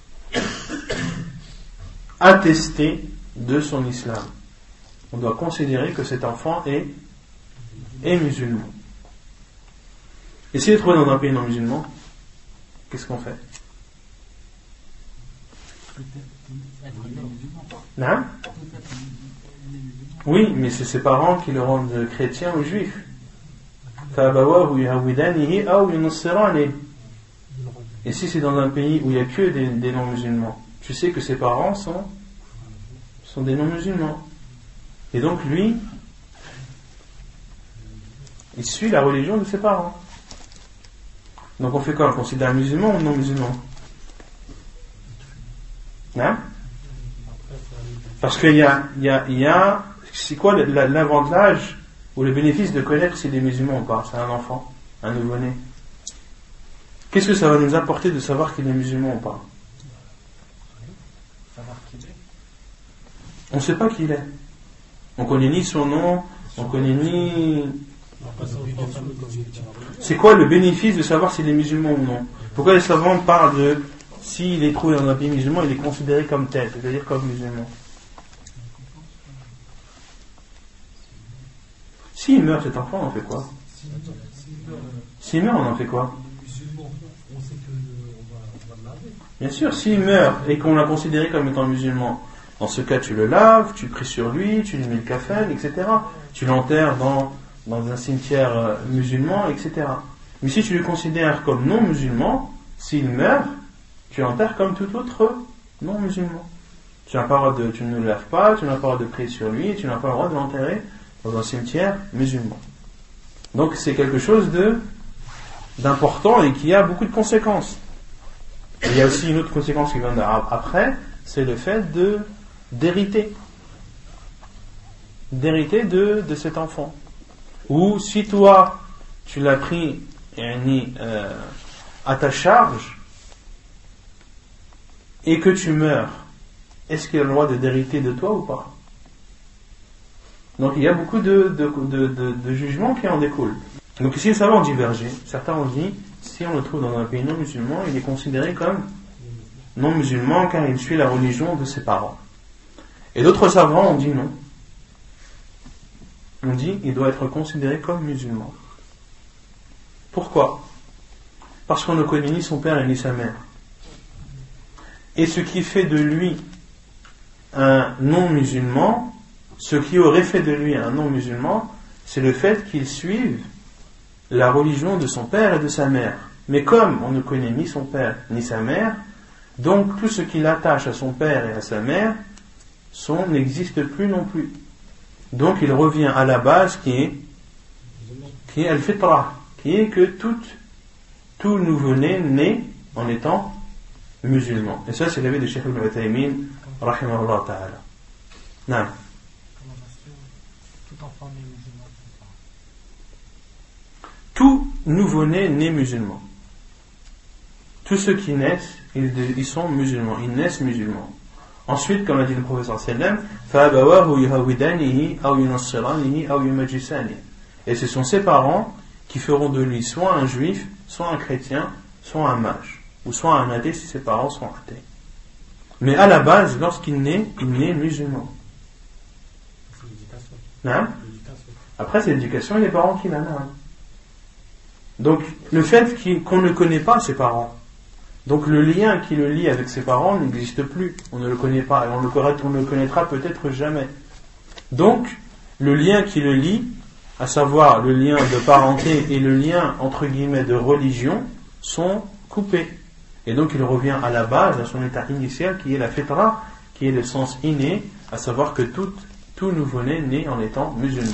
attester de son islam. On doit considérer que cet enfant est musulman. Et s'il est trouvé dans un pays non musulman, qu'est-ce qu'on fait? Non? Oui, mais c'est ses parents qui le rendent chrétien ou juif. Et si c'est dans un pays où il n'y a que des non-musulmans, tu sais que ses parents sont des non-musulmans. Et donc lui, il suit la religion de ses parents. Donc on fait quoi? On considère musulman ou non-musulman? Hein? Parce qu'il y a c'est quoi l'avantage ou le bénéfice de connaître s'il est musulman ou pas? C'est un enfant, un nouveau-né. Qu'est-ce que ça va nous apporter de savoir qu'il est musulman ou pas? On ne sait pas qui il est. On connaît ni son nom, on connaît ni... C'est quoi le bénéfice de savoir s'il est musulman ou non? Pourquoi les savants parlent de s'il est trouvé dans un pays musulman, il est considéré comme tel, c'est-à-dire comme musulman? S'il meurt cet enfant, on en fait quoi? S'il meurt, on en fait quoi? Bien sûr, s'il meurt et qu'on l'a considéré comme étant musulman, dans ce cas tu le laves, tu pries sur lui, tu lui mets le kafan, etc. Tu l'enterres dans un cimetière musulman, etc. Mais si tu le considères comme non musulman, s'il meurt, tu l'enterres comme tout autre non musulman. Tu ne le laves pas, tu n'as pas le droit de prier sur lui, tu n'as pas le droit de l'enterrer dans un cimetière musulman. Donc c'est quelque chose d'important et qui a beaucoup de conséquences. Et il y a aussi une autre conséquence qui vient après, c'est le fait d'hériter de cet enfant. Ou si toi tu l'as pris à ta charge et que tu meurs, est-ce qu'il a le droit d'hériter de toi ou pas? Donc il y a beaucoup de jugements qui en découlent. Donc ici les savants ont divergé. Certains ont dit, si on le trouve dans un pays non musulman, il est considéré comme non musulman car il suit la religion de ses parents. Et d'autres savants ont dit non. On dit il doit être considéré comme musulman. Pourquoi? Parce qu'on ne connaît ni son père ni sa mère. Et ce qui fait de lui un non-musulman, ce qui aurait fait de lui un non-musulman, c'est le fait qu'il suive la religion de son père et de sa mère. Mais comme on ne connaît ni son père ni sa mère, donc tout ce qui l'attache à son père et à sa mère n'existe plus non plus. Donc il revient à la base qui est al-fitra, qui est que tout nouveau-né naît en étant musulman. Et ça c'est l'avis de Cheikh Ibn Uthaymin rahimahullah ta'ala. Non. Tout enfant né musulman. Tout nouveau-né naît musulman. Tous ceux qui naissent, ils sont musulmans, ils naissent musulmans. Ensuite, comme a dit le professeur sallam, et ce sont ses parents qui feront de lui soit un juif, soit un chrétien, soit un mage, ou soit un athée si ses parents sont athées. Mais à la base, lorsqu'il naît, il naît musulman. Hein? Après, c'est l'éducation et les parents qui l'ont. Donc, le fait qu'on ne connaît pas ses parents, donc le lien qui le lie avec ses parents n'existe plus. On ne le connaît pas et on ne le connaîtra peut-être jamais. Donc, le lien qui le lie, à savoir le lien de parenté et le lien entre guillemets de religion, sont coupés. Et donc il revient à la base, à son état initial qui est la fitra, qui est le sens inné, à savoir que tout nouveau-né naît en étant musulman.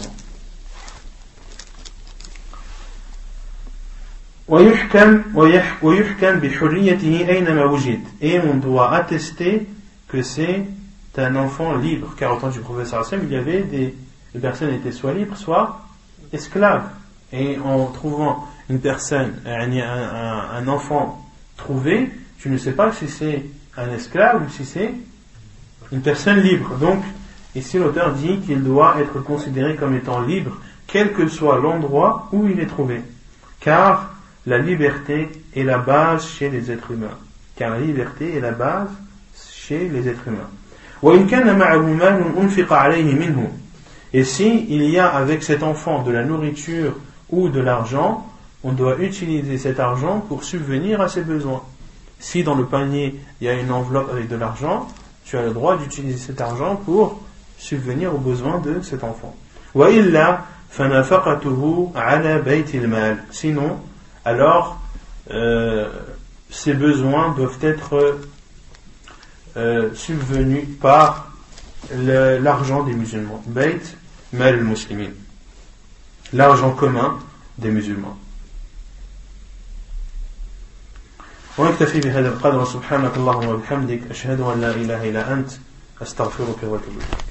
Et on doit attester que c'est tu as un enfant libre, car au temps du professeur Hassan, il y avait des personnes étaient soit libres, soit esclaves. Et en trouvant une personne, un enfant trouvé, tu ne sais pas si c'est un esclave ou si c'est une personne libre. Donc, ici l'auteur dit qu'il doit être considéré comme étant libre, quel que soit l'endroit où il est trouvé. Car la liberté est la base chez les êtres humains. Car la liberté est la base chez les êtres humains. Et si il y a avec cet enfant de la nourriture ou de l'argent, on doit utiliser cet argent pour subvenir à ses besoins. Si dans le panier il y a une enveloppe avec de l'argent, tu as le droit d'utiliser cet argent pour subvenir aux besoins de cet enfant. Sinon, alors ces besoins doivent être subvenus par l'argent des musulmans. Bayt mal al-muslimin, l'argent commun des musulmans. ونكتفي بهذا القدر. سبحانك اللهم وبحمدك أشهد أن لا إله إلا أنت أستغفرك وأتوب إليك.